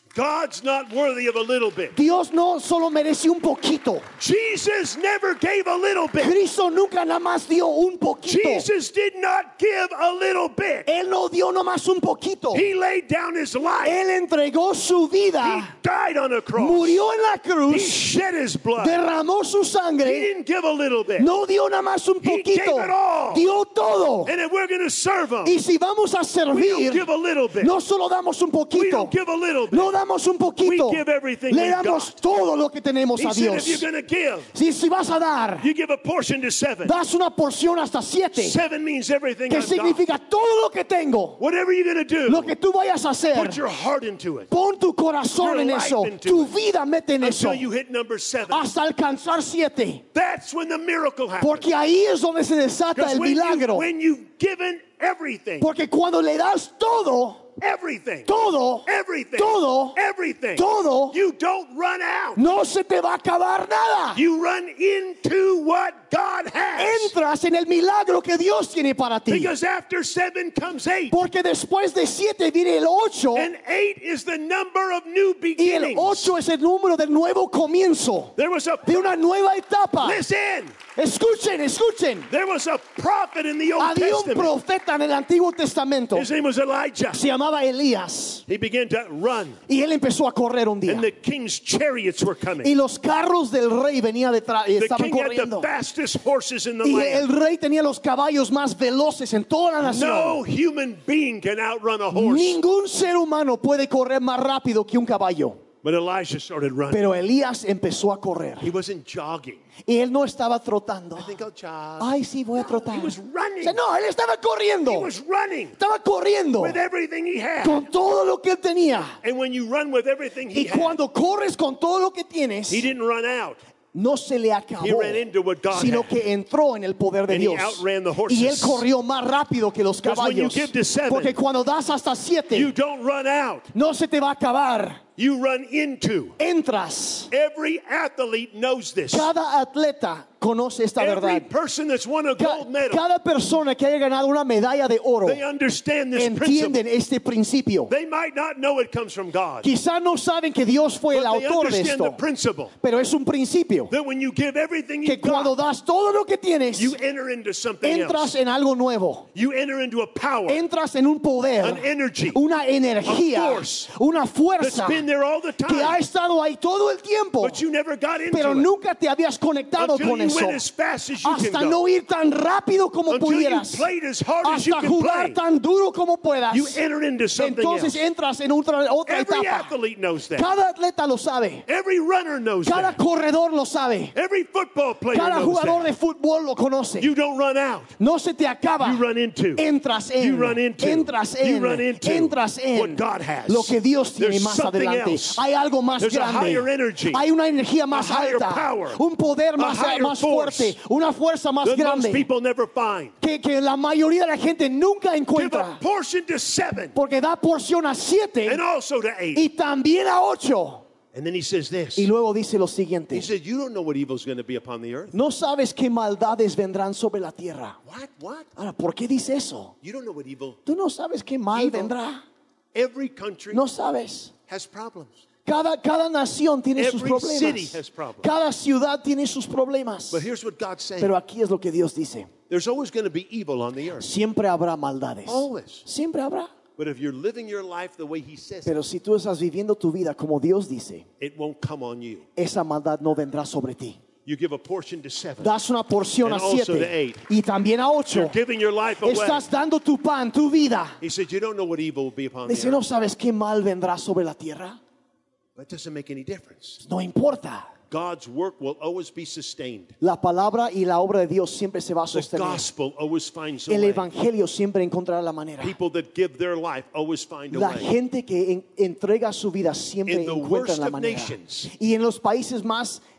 God's not worthy of a little bit. Dios no solo merece un poquito. Jesus never gave a little bit. Cristo nunca nada más dio un poquito. Jesus did not give a little bit. Él no dio nada más un poquito. He laid down his life. Él entregó su He vida, died on a cross. murió en la He cruz, shed his blood. derramó su He sangre, didn't give a little bit. no dio nada más un He poquito, gave it all. dio todo. And if we're going to serve him, Y si vamos a we don't servir, give a little bit. no solo damos un We poquito, don't give a little bit. no damos un poquito, We give everything le we've damos got. todo lo que tenemos He a said Dios. if you're going to give, Si, si vas a dar, you give a portion to seven. das una porción hasta siete, Seven means everything que I've got. significa todo lo que tengo. Whatever you're going to do, Lo que tú vayas a hacer, put your heart into it pon tu corazón your en life eso, into tu it. vida mete en eso, until you hit number seven. hasta alcanzar siete. That's when the miracle happens. Porque ahí es donde se desata Because el when, you, milagro. when you've given everything, Porque cuando le das todo, everything, todo, everything, todo, everything, todo, you don't run out. no se te va a acabar nada. You run into what God has. Entras en el milagro que Dios tiene para ti. Because after seven comes eight. Porque después de siete viene el ocho. And eight is the number of new Y el beginnings. ocho es el número del nuevo comienzo, There was a de una nueva etapa. listen. Escuchen, escuchen. There was a prophet in the Old Había un Testament. profeta en el Antiguo Testamento. His name was Elijah. Se llamaba Elías. He began to run, Y él empezó a correr un día. and the king's chariots were coming. Y los carros del rey venían detrás y The estaban king had the corriendo. fastest horses in the Y el land. rey tenía los caballos más veloces en toda la nación. No human being can outrun a horse. Ningún ser humano puede correr más rápido que un caballo. But Elijah started running. Pero Elías empezó a correr. He wasn't jogging. Y él no estaba trotando. I think I'll jog. Ay, sí, voy a trotar. He was running. O sea, no, él estaba corriendo. He was running Estaba corriendo with everything he had. con todo lo que él tenía. And when you run with everything he Y had, cuando corres con todo lo que tienes, he didn't run out. no se le acabó, He ran into what God sino had. que entró en el poder de And he Dios. outran the horses. Y él corrió más rápido que los Because when you caballos. give to seven, Porque cuando das hasta siete, You don't run out. no se te va a acabar. You run into. Entras. Every athlete knows this. Cada atleta conoce esta Every verdad. person that's won a Ca- gold medal, Cada persona que haya ganado una medalla de oro they understand this entienden principle. este principio. They might not know it comes from God, Quizá no saben que Dios fue el but they autor de understand the esto, principle pero es un principio that when you give everything que you've cuando got, das todo lo que tienes, you enter into something entras else. en algo nuevo. You enter into a power Entras en un poder, An energy, una energía, a force una that's fuerza been there all the que ha time, estado ahí todo el tiempo, but you never got into pero it nunca te habías conectado until con you eso. went as fast as you Hasta can no go. ir tan rápido como Until you pudieras, played as hard as you hasta can jugar play. tan duro como puedas. You enter into something Entonces else. entras en otra, otra Every etapa. athlete knows that. Cada atleta lo sabe, Every runner knows cada that. corredor lo sabe, Every football player cada knows jugador that. de fútbol lo conoce. You don't run out. No se te acaba. You run into. Entras en, You run into. entras You en, run into entras en what God has. lo que Dios tiene There's más something adelante. else. Hay algo más There's a grande. higher energy. Hay una energía más A higher alta, power. un poder A más, higher más force. fuerte, una fuerza más That most grande people never find. que, que la mayoría de la gente nunca Give encuentra. a portion to seven Porque da porción a siete and also to eight. y también a ocho. And then he says this. Y luego dice lo He siguiente: said, you don't know what evil is going to be upon the earth. no sabes qué maldades vendrán sobre la tierra. What? What? Ahora, ¿por qué dice eso? You don't know what evil. Tú no sabes qué mal Evil. vendrá. Every country No sabes. has problems. Cada, cada nación tiene sus Every city problemas. has problems. Cada ciudad tiene sus problemas. But here's what God's saying. Pero aquí es lo que Dios dice: There's always going to be evil on the earth. siempre habrá maldades. Always. Siempre habrá. But if you're living your life the way he says it, Pero si tú estás viviendo tu vida como Dios dice, it won't come on you. esa maldad no vendrá sobre ti. You give a portion to seven. Das una porción And a also to siete eight. y también a ocho. You're giving your life away. Estás dando tu pan, tu vida. He said, you don't know what evil will be upon the Dice: no earth. sabes qué mal vendrá sobre la tierra. That doesn't make any difference. No importa. God's work will always be sustained. La palabra y la obra de Dios siempre se va a The sostener. gospel always finds a El way. evangelio siempre encontrará la manera. People that give their life always find a La way. gente que en- entrega su vida siempre In the encuentra worst la of manera. nations. Y en los países más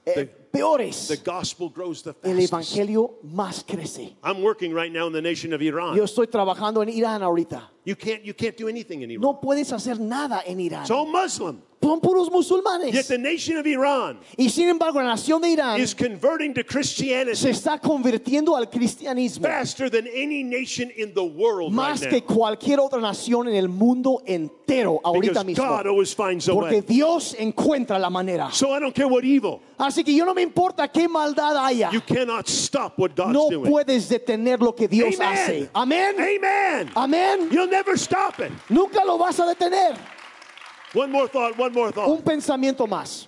eh, peores, the gospel grows the el fastest. evangelio más crece. I'm working right now in the nation of Iran. Yo estoy trabajando en Irán ahorita. You can't, you can't do anything in Iran. No puedes hacer nada en Irán. It's all Muslim. Son puros Yet musulmanes. the nation of Iran Y sin embargo, la nación de Irán is converting to se Christianity está convirtiendo al cristianismo faster than any nation in the world más right que now. cualquier otra nación en el mundo entero ahorita Because mismo. God always finds a Porque way. Dios encuentra la manera. So I don't care what evil. Así que yo no me importa qué maldad haya. You cannot stop what God's No doing. puedes detener lo que Dios Amen. hace. Amén. Amen. Amén. You'll never stop it. Nunca lo vas a detener. One more thought, one more Un thought. pensamiento más.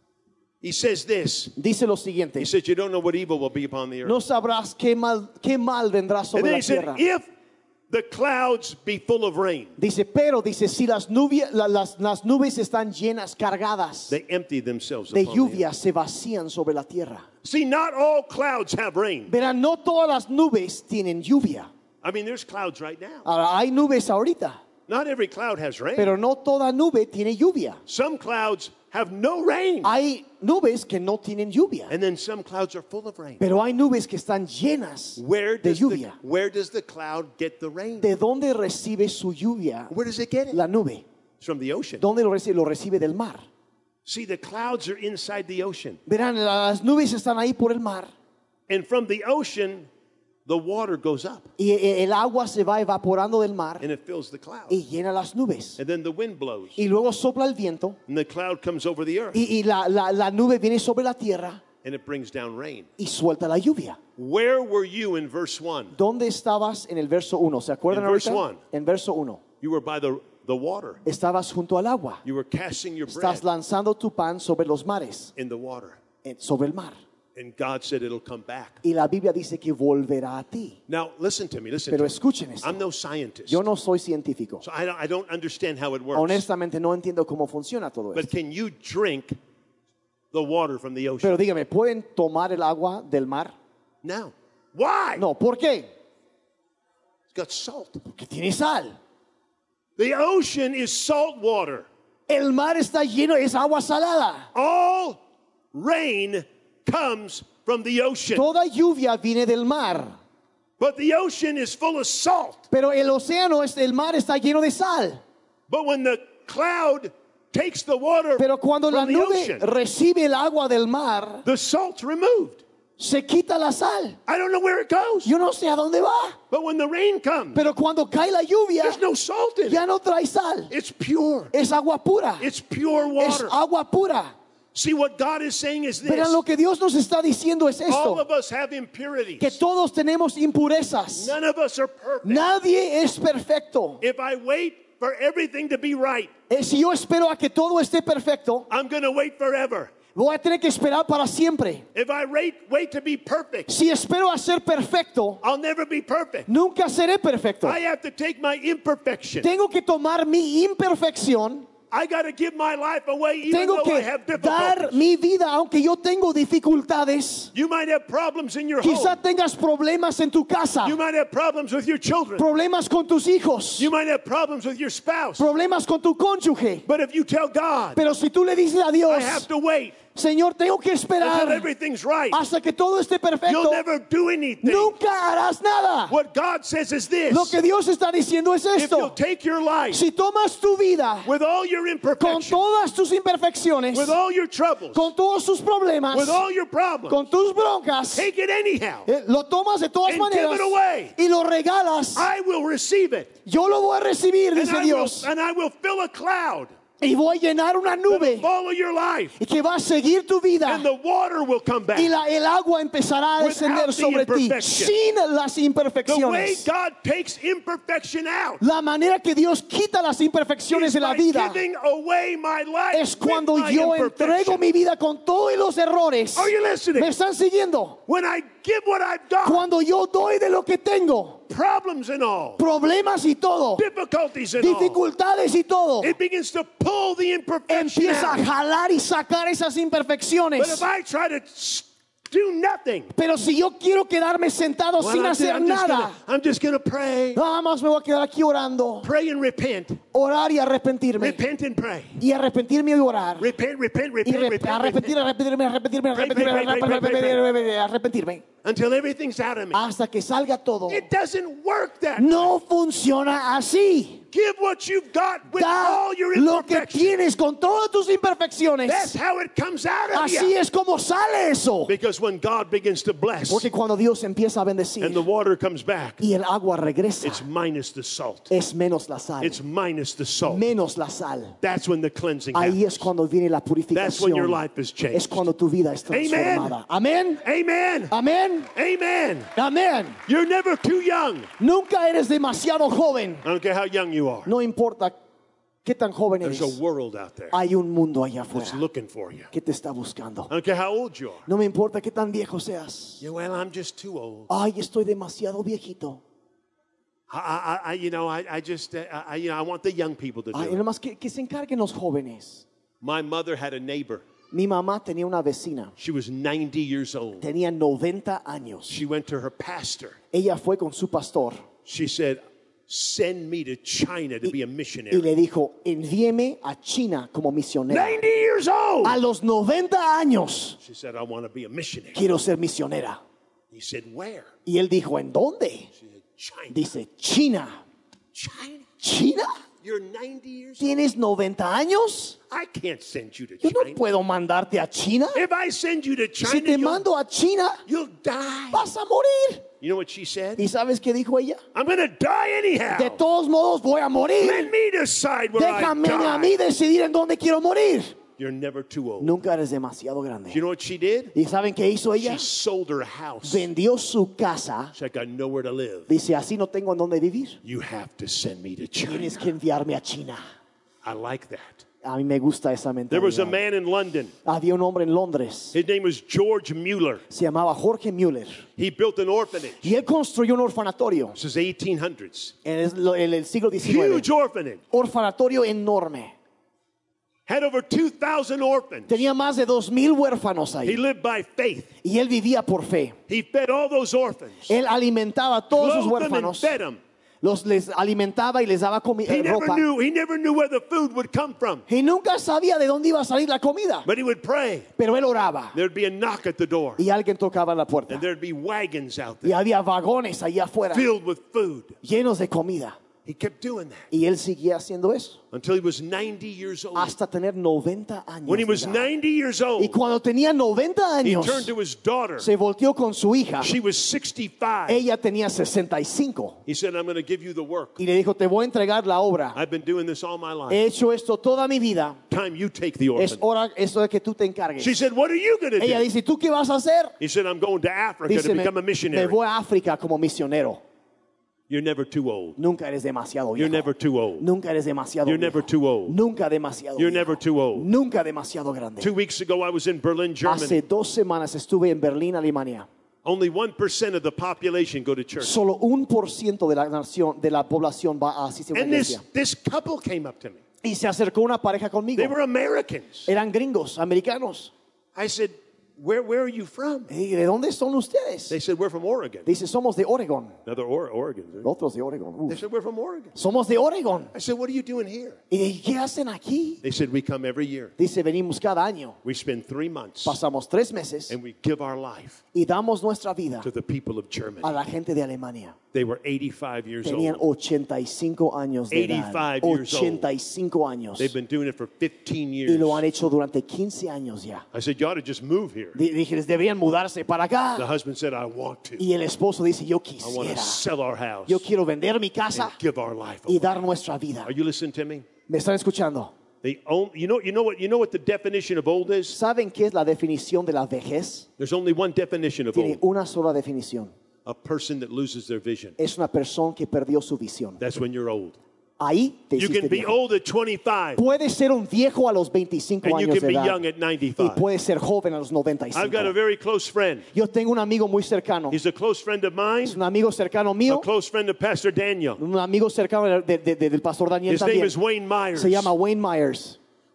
He says this. Dice lo siguiente. He says, you don't know what evil will be upon the earth. No sabrás qué mal, qué mal vendrá And sobre then la he said, tierra. if the clouds be full of rain, Dice, pero dice, si las nubes, la- las, las nubes están llenas, cargadas they empty themselves de upon the earth. lluvia, se vacían sobre la tierra. See, not all clouds have rain. Verán, no todas las nubes tienen lluvia. I mean, there's clouds right now. Ahora, hay nubes ahorita, Not every cloud has rain. pero no toda nube tiene lluvia. Some clouds have no rain. Hay nubes que no tienen lluvia, And then some clouds are full of rain. pero hay nubes que están llenas Where de does, the, lluvia. where does the cloud get the rain? ¿De dónde recibe su lluvia Where does it get it? la nube? It's from the ocean. ¿Dónde lo recibe? Lo recibe del mar. See, the clouds are inside the ocean. Verán, las nubes están ahí por el mar And from the ocean, the water goes up y el agua se va evaporando del mar and it fills the cloud. y llena las nubes. And then the wind blows Y luego sopla el viento and the cloud comes over the earth y, y la, la, la nube viene sobre la tierra and it brings down rain. y suelta la lluvia. Where were you in verse one? ¿Dónde estabas en el verso uno? ¿Se acuerdan In verse ahorita? one. En verso uno. You were by the, the water. Estabas junto al agua. You were casting your bread Estás lanzando tu pan sobre los mares, in the water. en- sobre el mar. And God said it'll come back. Y la Biblia dice que volverá a ti. Now, listen to me. Listen Pero to me. escuchen esto. I'm no scientist. Yo no soy científico. So I don't, I don't understand how it works. Honestamente no entiendo cómo funciona todo But esto. can you drink the water from the ocean? Pero dígame, ¿pueden tomar el agua del mar? No. Why? No, ¿por qué? It's got salt. Porque tiene sal. The ocean is salt water. El mar está lleno, es agua salada. All rain comes from the ocean. Toda lluvia viene del mar. But the ocean is full of salt. Pero el océano, es- el mar está lleno de sal. But when the cloud takes the water Pero cuando la from the nube ocean, recibe el agua del mar, the salt's removed. se quita la sal. I don't know where it goes. Yo no sé a dónde va. But when the rain comes, Pero cuando cae la lluvia, there's no salt in ya it. no trae sal. It's pure. Es agua pura. It's pure Es water. agua pura. See, what God is saying is this. Pero lo que Dios nos está diciendo es All esto. of us have impurities. Que todos tenemos impurezas. None of us are perfect. Nadie es perfecto. If I wait for everything to be right, Eh, Si yo espero a que todo esté perfecto, I'm going to wait forever. voy a tener que esperar para siempre. If I wait, wait to be perfect, Si espero a ser perfecto, I'll never be perfect. nunca seré perfecto. I have to take my imperfection. Tengo que tomar mi imperfección. I got to give my life away even Tengo though I que have dar difficulties. mi vida aunque yo tengo dificultades. You might have problems in your Quizá home. tengas problemas en tu casa, You might have problems with your children. problemas con tus hijos, You might have problems with your spouse. problemas con tu cónyuge. But if you tell God, Pero si tú le dices a I Dios, have to wait Señor, tengo que until esperar everything's right, hasta que todo esté you'll perfecto, never do anything. nunca harás nada. What God says is this: Lo que Dios está diciendo es if you'll esto. take your life Si tomas tu vida with all your con imperfections, todas tus imperfecciones, with all your troubles, con todos tus problemas, with all your problems, con tus broncas, take it anyhow. eh, lo tomas de todas And give maneras it away. y lo regalas, I will receive it, yo lo voy a recibir, and dice I, will, Dios, and I will fill a cloud y voy a llenar una that will nube follow your life, y que va a seguir tu vida and the water will come back. y la, el agua empezará a Without descender the sobre ti imperfection. sin las The way imperfecciones. God takes imperfection out La manera que Dios quita las imperfecciones is de la by vida giving away my life es cuando with my yo imperfection. entrego mi vida con todos los errores. Are you listening? ¿Me están siguiendo? When I give what I've got, Cuando yo doy de lo que tengo, problems and all, problemas y todo, difficulties and all, dificultades y todo, it begins to pull the imperfection empieza a out. jalar y sacar esas But imperfecciones. if I try to s- do nothing. Pero si yo quiero quedarme sentado Well, sin I'm, ju- hacer I'm just nada, gonna, I'm just gonna pray, nada más me voy a quedar aquí orando, pray and repent, orar y arrepentirme. repent and pray, Y arrepentirme y orar. repent, repent, Y repent, re- repent, arrepentir, repent, arrepentirme, arrepentirme, Pray, arrepentirme, pray, pray, pray, pray, pray, arrepentirme, arrepentirme. until everything's out of me. Hasta que salga todo. It doesn't work that. No funciona así. Give what you've got with Da all your lo que imperfections. tienes con todas tus That's imperfecciones. how it comes out of Así you. es como sale eso. Because when God begins to bless Porque cuando Dios empieza a bendecir and the water comes back, y el agua regresa, it's minus the salt. es menos la sal. It's minus the salt. Menos la sal. That's when the cleansing Ahí es happens. cuando viene la That's when your purificación. life is Es changed. cuando tu vida es transformada. Amén. Amen. Amén. Amen. Amén. You're never too young. Nunca eres demasiado joven. I don't care how young you are. No importa qué tan joven There's eres. a world out there Hay un mundo allá that's afuera looking for you. que te está buscando. I don't care how old you are. No me importa qué tan viejo seas. Yeah, well, I'm just too old. Ay, estoy demasiado viejito. I, I, I you know, I, I just, uh, I, you know, I want the young people to Ay, do it. nomás que, que se encarguen los jóvenes. My mother had a neighbor. Mi mamá tenía una vecina. She was ninety years old. Tenía noventa años. She went to her pastor. Ella fue con su pastor She said, send me to China to be a y missionary. le dijo, envíeme a China como misionera. ninety years old. A los noventa años She said, I want to be a missionary. quiero ser misionera. He said, where? Y él dijo, ¿en dónde? She said, China. Dice, China. China? ¿China? You're ninety years old? ¿Tienes noventa años? I can't send you to Yo no China. puedo mandarte a China. If I send you to China, Si te you'll, mando a China, you'll die. vas a morir. You know what she said? ¿Y sabes qué dijo ella? I'm going to die anyhow. De todos modos voy a morir. Let me decide where Déjame I a mí die. decidir en dónde quiero morir. You're never too old. Nunca eres demasiado grande. You know what she did? ¿Y saben qué hizo ella? She sold her house. Vendió su casa. She's like, I got nowhere to live. Dice, así no tengo en dónde vivir. You have to send me to China. Tienes que enviarme a China. I like that. A mí me gusta esa There was a mentalidad. man in London. Había un hombre en Londres. His name was George Mueller. Se llamaba Jorge Müller. He built an orphanage. Y él construyó un orfanatorio This is eighteen hundreds. en el, en el siglo diecinueve. Huge orphanage. Orfanatorio enorme. Had over two thousand orphans. Tenía más de dos mil huérfanos He ahí. lived by faith. Y él vivía por fe. He fed all those orphans. Él alimentaba a todos sus Clothed them and huérfanos. fed them. Los les alimentaba y les daba comi- He eh, never ropa. knew. He never knew where the food would come from. Y nunca sabía de dónde iba a salir la comida. But he would pray. Pero él oraba. There'd be a knock at the door. Y alguien tocaba la puerta. And there'd be wagons out Y there había vagones allá afuera filled with food. llenos de comida. He kept doing that Y él seguía haciendo eso until he was ninety years old. hasta tener noventa años. When he de was edad. ninety years Y old, cuando tenía noventa he años, turned to his daughter. se volteó con su hija. She was sixty-five. Ella tenía sesenta y cinco. He said, I'm going to give you the work. Y le dijo, te voy a entregar la obra. I've been doing this all my life. He hecho esto toda mi vida. Time you take the Es orphan. hora eso de que tú te encargues. She said, what are you going to Ella do? dice, ¿tú qué vas a hacer? He said, I'm going to Africa Dice, to me, become a me missionary. voy a África como misionero. You're never too old. Nunca eres demasiado You're viejo. never too old. Nunca eres demasiado You're viejo. never too old. Nunca demasiado You're viejo. never too old. Nunca demasiado grande. Two weeks ago, I was in Berlin, Germany. Hace dos semanas estuve en Berlín, Alemania. Only one percent of the population go to church. Solo un por ciento de la nación, de la población va a asistir a una And this, iglesia. this couple came up to me. Y se acercó una pareja conmigo. They were Americans. Eran gringos, americanos. I said, where, where are you from? Y ¿de dónde son ustedes? They said, we're from Oregon. Dice, somos de Oregon. Another or- Oregon. eh? Otros de Oregon. They Uf. said, we're from Oregon. Somos de Oregon. I said, what are you doing here? ¿Y de qué hacen aquí? They said, we come every year. Dice, venimos cada año. We spend three months Pasamos tres meses and we give our life y damos nuestra vida to the people of Germany. a la gente de Alemania. They were eighty-five years Tenían old. ochenta y cinco años de edad. eighty-five years old. ochenta y cinco años. They've been doing it for fifteen Y years. lo han hecho durante quince años ya. I said, you ought to just move here. Di- Dije, les deberían mudarse para The acá. husband said, I want to. Y el esposo dice, yo I want to quisiera. sell our house Yo quiero vender mi casa and give our life y away. dar nuestra vida. Are you listening to me? ¿Me están escuchando? They own, you know, you know what, you know what the definition of old is? ¿Saben qué es la definición de la vejez? There's only one definition of Tiene old. una sola definición. A person that loses their vision. Es una persona que perdió su visión. That's when you're old. Ahí te You hiciste can be viejo. old at twenty-five Puedes ser un viejo a los veinticinco and you años can de be edad young at y ninety-five. puedes ser joven a los noventa y I've got a cinco. very close friend. Yo tengo un amigo muy cercano. He's a close friend of mine, Es un amigo cercano a mío, close friend of Pastor Daniel. un amigo cercano de- de- de- del pastor Daniel His name también. is Wayne Myers. Se llama Wayne Myers.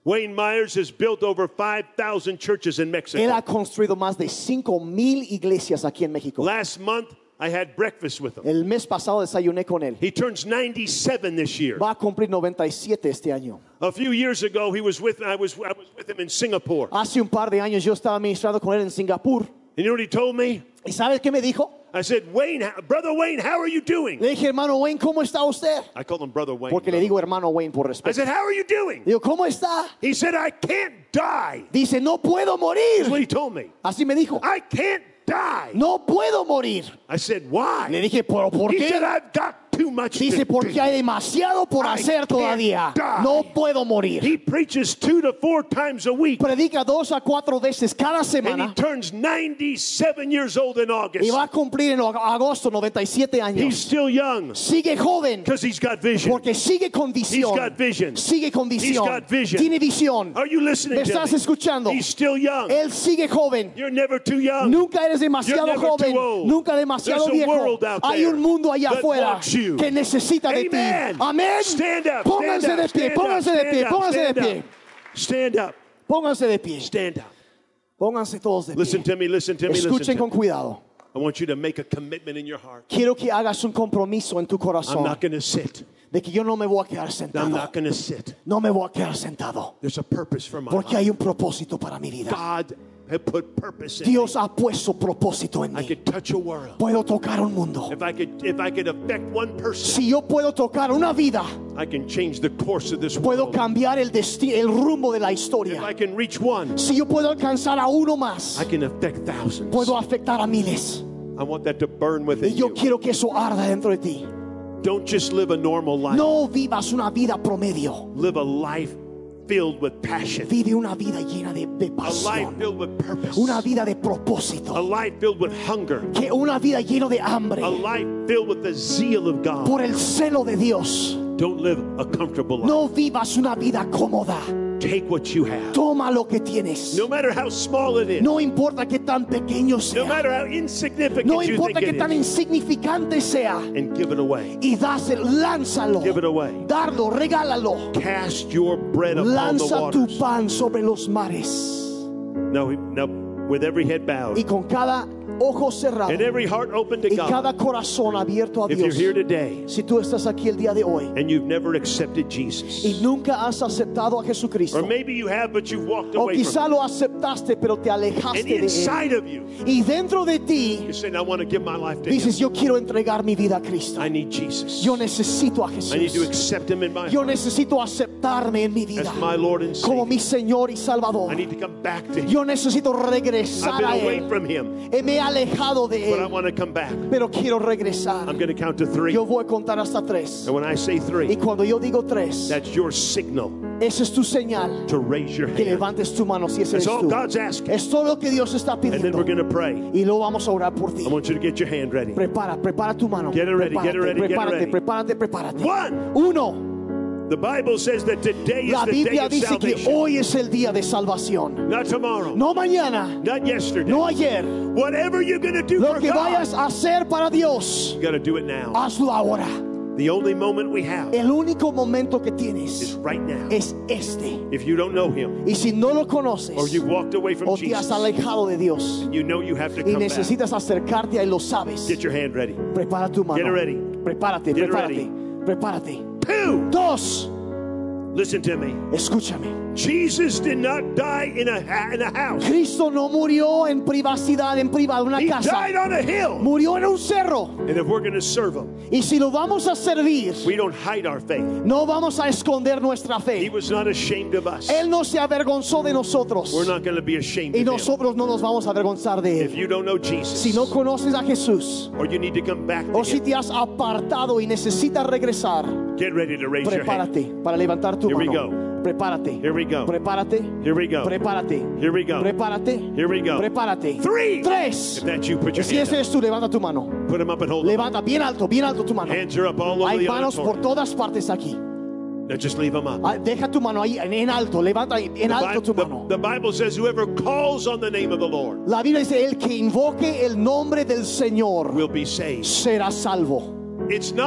Wayne Myers has built over five thousand churches in Mexico. Él ha construido más de cinco mil iglesias aquí en México. Last month, I had breakfast with him. El mes pasado desayuné con él. He turns ninety-seven this year. Va a cumplir noventa y siete este año. A few years ago, he was with I was I was with him in Singapore. Hace un par de años yo estaba ministrando con él en Singapur. And you know what he told me? ¿Y sabes qué me dijo? I said, Wayne, how- brother Wayne, how are you doing? Le dije, hermano Wayne, ¿cómo está usted? I called him brother Wayne. Porque le digo hermano Wayne por I respeto. said, how are you doing? Digo, ¿cómo está? He said, I can't die. Dice, no puedo That's what morir. he told me. Así me dijo, I can't die. no puedo morir. I said, why? Le dije, ¿pero por He said, qué? I've got too much to Dice, porque do. hay demasiado por I hacer can't todavía. die. No puedo morir. He preaches two to four times a week. Predica dos a cuatro veces cada And he semana. turns ninety-seven years old in August. Y va a cumplir en agosto noventa y siete He's años. still young Sigue joven. because he's got vision. Porque sigue con He's visión. got vision. Sigue con He's visión. got vision. Tiene visión. Are you listening ¿Me to estás me? escuchando? He's still young. Él sigue joven. You're never too young. Nunca eres demasiado You're never joven. too old. Nunca demasiado There's a viejo. world out Hay there un mundo allá that afuera wants you. que necesita de ti. Amen. Amén. Stand up. Pónganse stand de up, pie. stand Pónganse up, de pie. stand up, Pónganse de stand pie. up. Stand up. Pónganse de pie. Stand up. Pónganse todos de Listen pie. to me. Listen to me. Listen Escuchen to con me. cuidado. I want you to make a commitment in your heart. Quiero que hagas un compromiso en tu I'm corazón not going to sit. de que yo no me voy a quedar I'm sentado. not going to sit. No me voy a quedar sentado. There's a purpose for my Porque life. hay un propósito para mi vida. God had put purpose in me. Dios ha puesto propósito en I mí. could touch a world. Puedo tocar un mundo. If I could, if I could affect one person, Si yo puedo tocar una vida, I can change the course of this puedo world. cambiar el destino, el rumbo de la If historia. I can reach one, Si yo puedo alcanzar a uno más, I can affect thousands. puedo afectar a miles. I want that to burn Y within yo you. quiero que eso arda dentro de ti. Don't just live a normal life. No vivas una vida promedio. Live a life filled with passion. Vive una vida llena de, de A life pasión. filled with purpose. Una vida de A propósito. life filled with hunger. Que una vida llena de hambre. A life filled with the zeal of God. Por el celo de Dios. Don't live a comfortable life. No vivas una vida cómoda. Take what you have. Toma lo que tienes. No matter how small it is. No importa que tan pequeño No sea. matter how insignificant No you importa think que it tan is. insignificante sea. And give it away. Y dáselo, lánzalo. Give it away. Darlo, regálalo. Cast your bread upon the Lanza tu waters. pan sobre los mares. Now, now, with every head bowed Y con cada ojo cerrado and every heart open to y cada God, corazón abierto a if you're Dios. here today Si tú estás aquí el día de hoy and you've never accepted Jesus, y nunca has aceptado a Jesucristo, or maybe you have but you've walked o away quizá from lo aceptaste pero te it, alejaste and de Él, inside of you, y dentro de ti you're saying, I want to give my life to Him. dices, yo quiero entregar mi vida a Cristo, I need Jesus. yo necesito a I need to Jesús, accept Him in my yo heart necesito aceptarme en mi vida as my Lord and como Savior. mi Señor y Salvador. I need to come back to Him. Yo necesito I've regresar been a away Él. from Him, Eh, Me he alejado de but I Él, want to come back. pero quiero regresar. I'm going to count to three. Yo voy a contar hasta tres. And when I say Y three, cuando yo digo tres, that's your signal esa es tu señal to raise your que hand. levantes tu mano si ese That's eres all tú. God's asking. Es todo lo que Dios está And then pidiendo. we're going to pray. Y luego vamos a orar por ti. I want you to get your hand ready. Prepara, prepara tu mano. Get it ready, get it ready, get it prepárate, ready. prepárate, prepárate. One. Uno. The Bible says that today is La the day Biblia of dice que salvation. hoy es el día de salvación. Not tomorrow. No mañana, Not yesterday. no ayer. Whatever you're going to do Lo for que God, vayas a hacer para Dios, you got to do it now. hazlo ahora. The only moment we have El único momento que is tienes right now. es este. If you don't know Him, Y si no lo conoces or you've walked away from o te has Jesus, alejado de Dios you know you have to y come back. necesitas acercarte a Él, lo sabes. Get your hand ready. Prepara tu mano. Get ready. Prepárate, Get prepárate, prepárate. Two. Dos, Listen to me. escúchame. Jesus did not die in a ha- in a house. Cristo no murió en privacidad, en privado, en una He casa. died on a hill. Murió en un cerro. And if we're going to serve Him, Y si lo vamos a servir, we don't hide our faith. no vamos a esconder nuestra He fe. was not ashamed of us. Él no se avergonzó de nosotros. We're not going to be ashamed Y of Him. nosotros no nos vamos a avergonzar de If Él. you don't know Jesus, Si no conoces a Jesús, or you need to come back to o si Him, te has apartado y necesitas regresar, get ready to raise your hand. prepárate para levantar tu Here we mano. go. Prepárate. Here we go. Prepárate. Here we go. Prepárate. Here we go. Prepárate. Here we go. Prepárate. Three. Tres. If that's you, put your Si hand ese up. eres tú, levanta tu mano. Put them up and hold them. Levanta bien alto, bien alto tu mano. Hands are up all over Hay the manos por auditorium. todas partes aquí. Now just leave them up. Ah, Deja tu mano ahí en en alto. Levanta ahí, en The alto tu Bi- mano. the, the Bible says whoever calls on the name of the Lord La Biblia dice, el que invoque el nombre del Señor will be saved. será salvo. It's not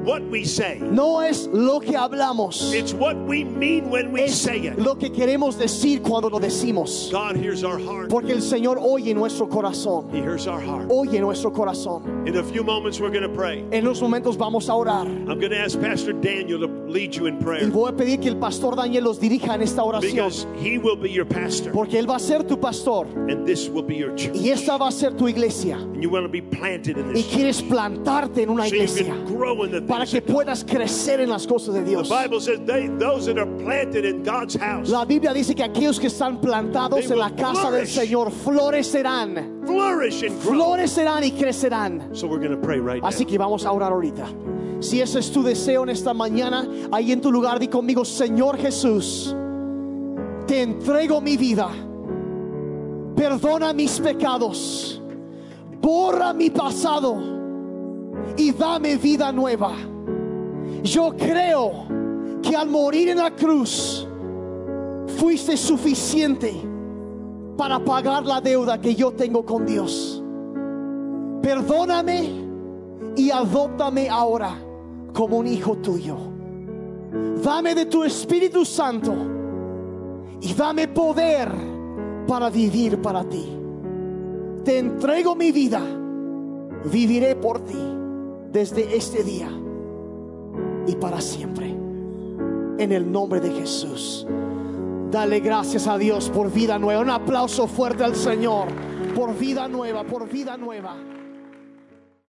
what we say. No es lo que hablamos, It's what we mean when we es say it. lo que queremos decir cuando lo decimos. God hears our heart. Porque el Señor oye nuestro corazón. He hears our heart. Oye nuestro corazón. In a few moments we're going to pray. En unos momentos vamos a orar. I'm going to ask Pastor Daniel to lead you in Y prayer, voy a pedir que el pastor Daniel los dirija en esta oración. because he will be your pastor Porque él va a ser tu pastor. and this will be your church. Y esta va a ser tu iglesia. And you want to be planted in Y this quieres plantarte en una so you iglesia can grow in the para things que of God. puedas crecer en las cosas de The Dios. Bible says they, those that are planted in God's house La Biblia dice que aquellos que están plantados They en la will casa del flourish. Señor florecerán. flourish and grow. Florecerán y crecerán. So we're going to pray right Así now. que vamos a orar ahorita. Si ese es tu deseo en esta mañana, ahí en tu lugar, di conmigo: Señor Jesús, te entrego mi vida. Perdona mis pecados. Borra mi pasado y dame vida nueva. Yo creo que al morir en la cruz fuiste suficiente para pagar la deuda que yo tengo con Dios. Perdóname y adóptame ahora como un hijo tuyo. Dame de tu Espíritu Santo y dame poder para vivir para ti. Te entrego mi vida. Viviré por ti desde este día y para siempre. En el nombre de Jesús. Dale gracias a Dios por vida nueva. Un aplauso fuerte al Señor por vida nueva, por vida nueva.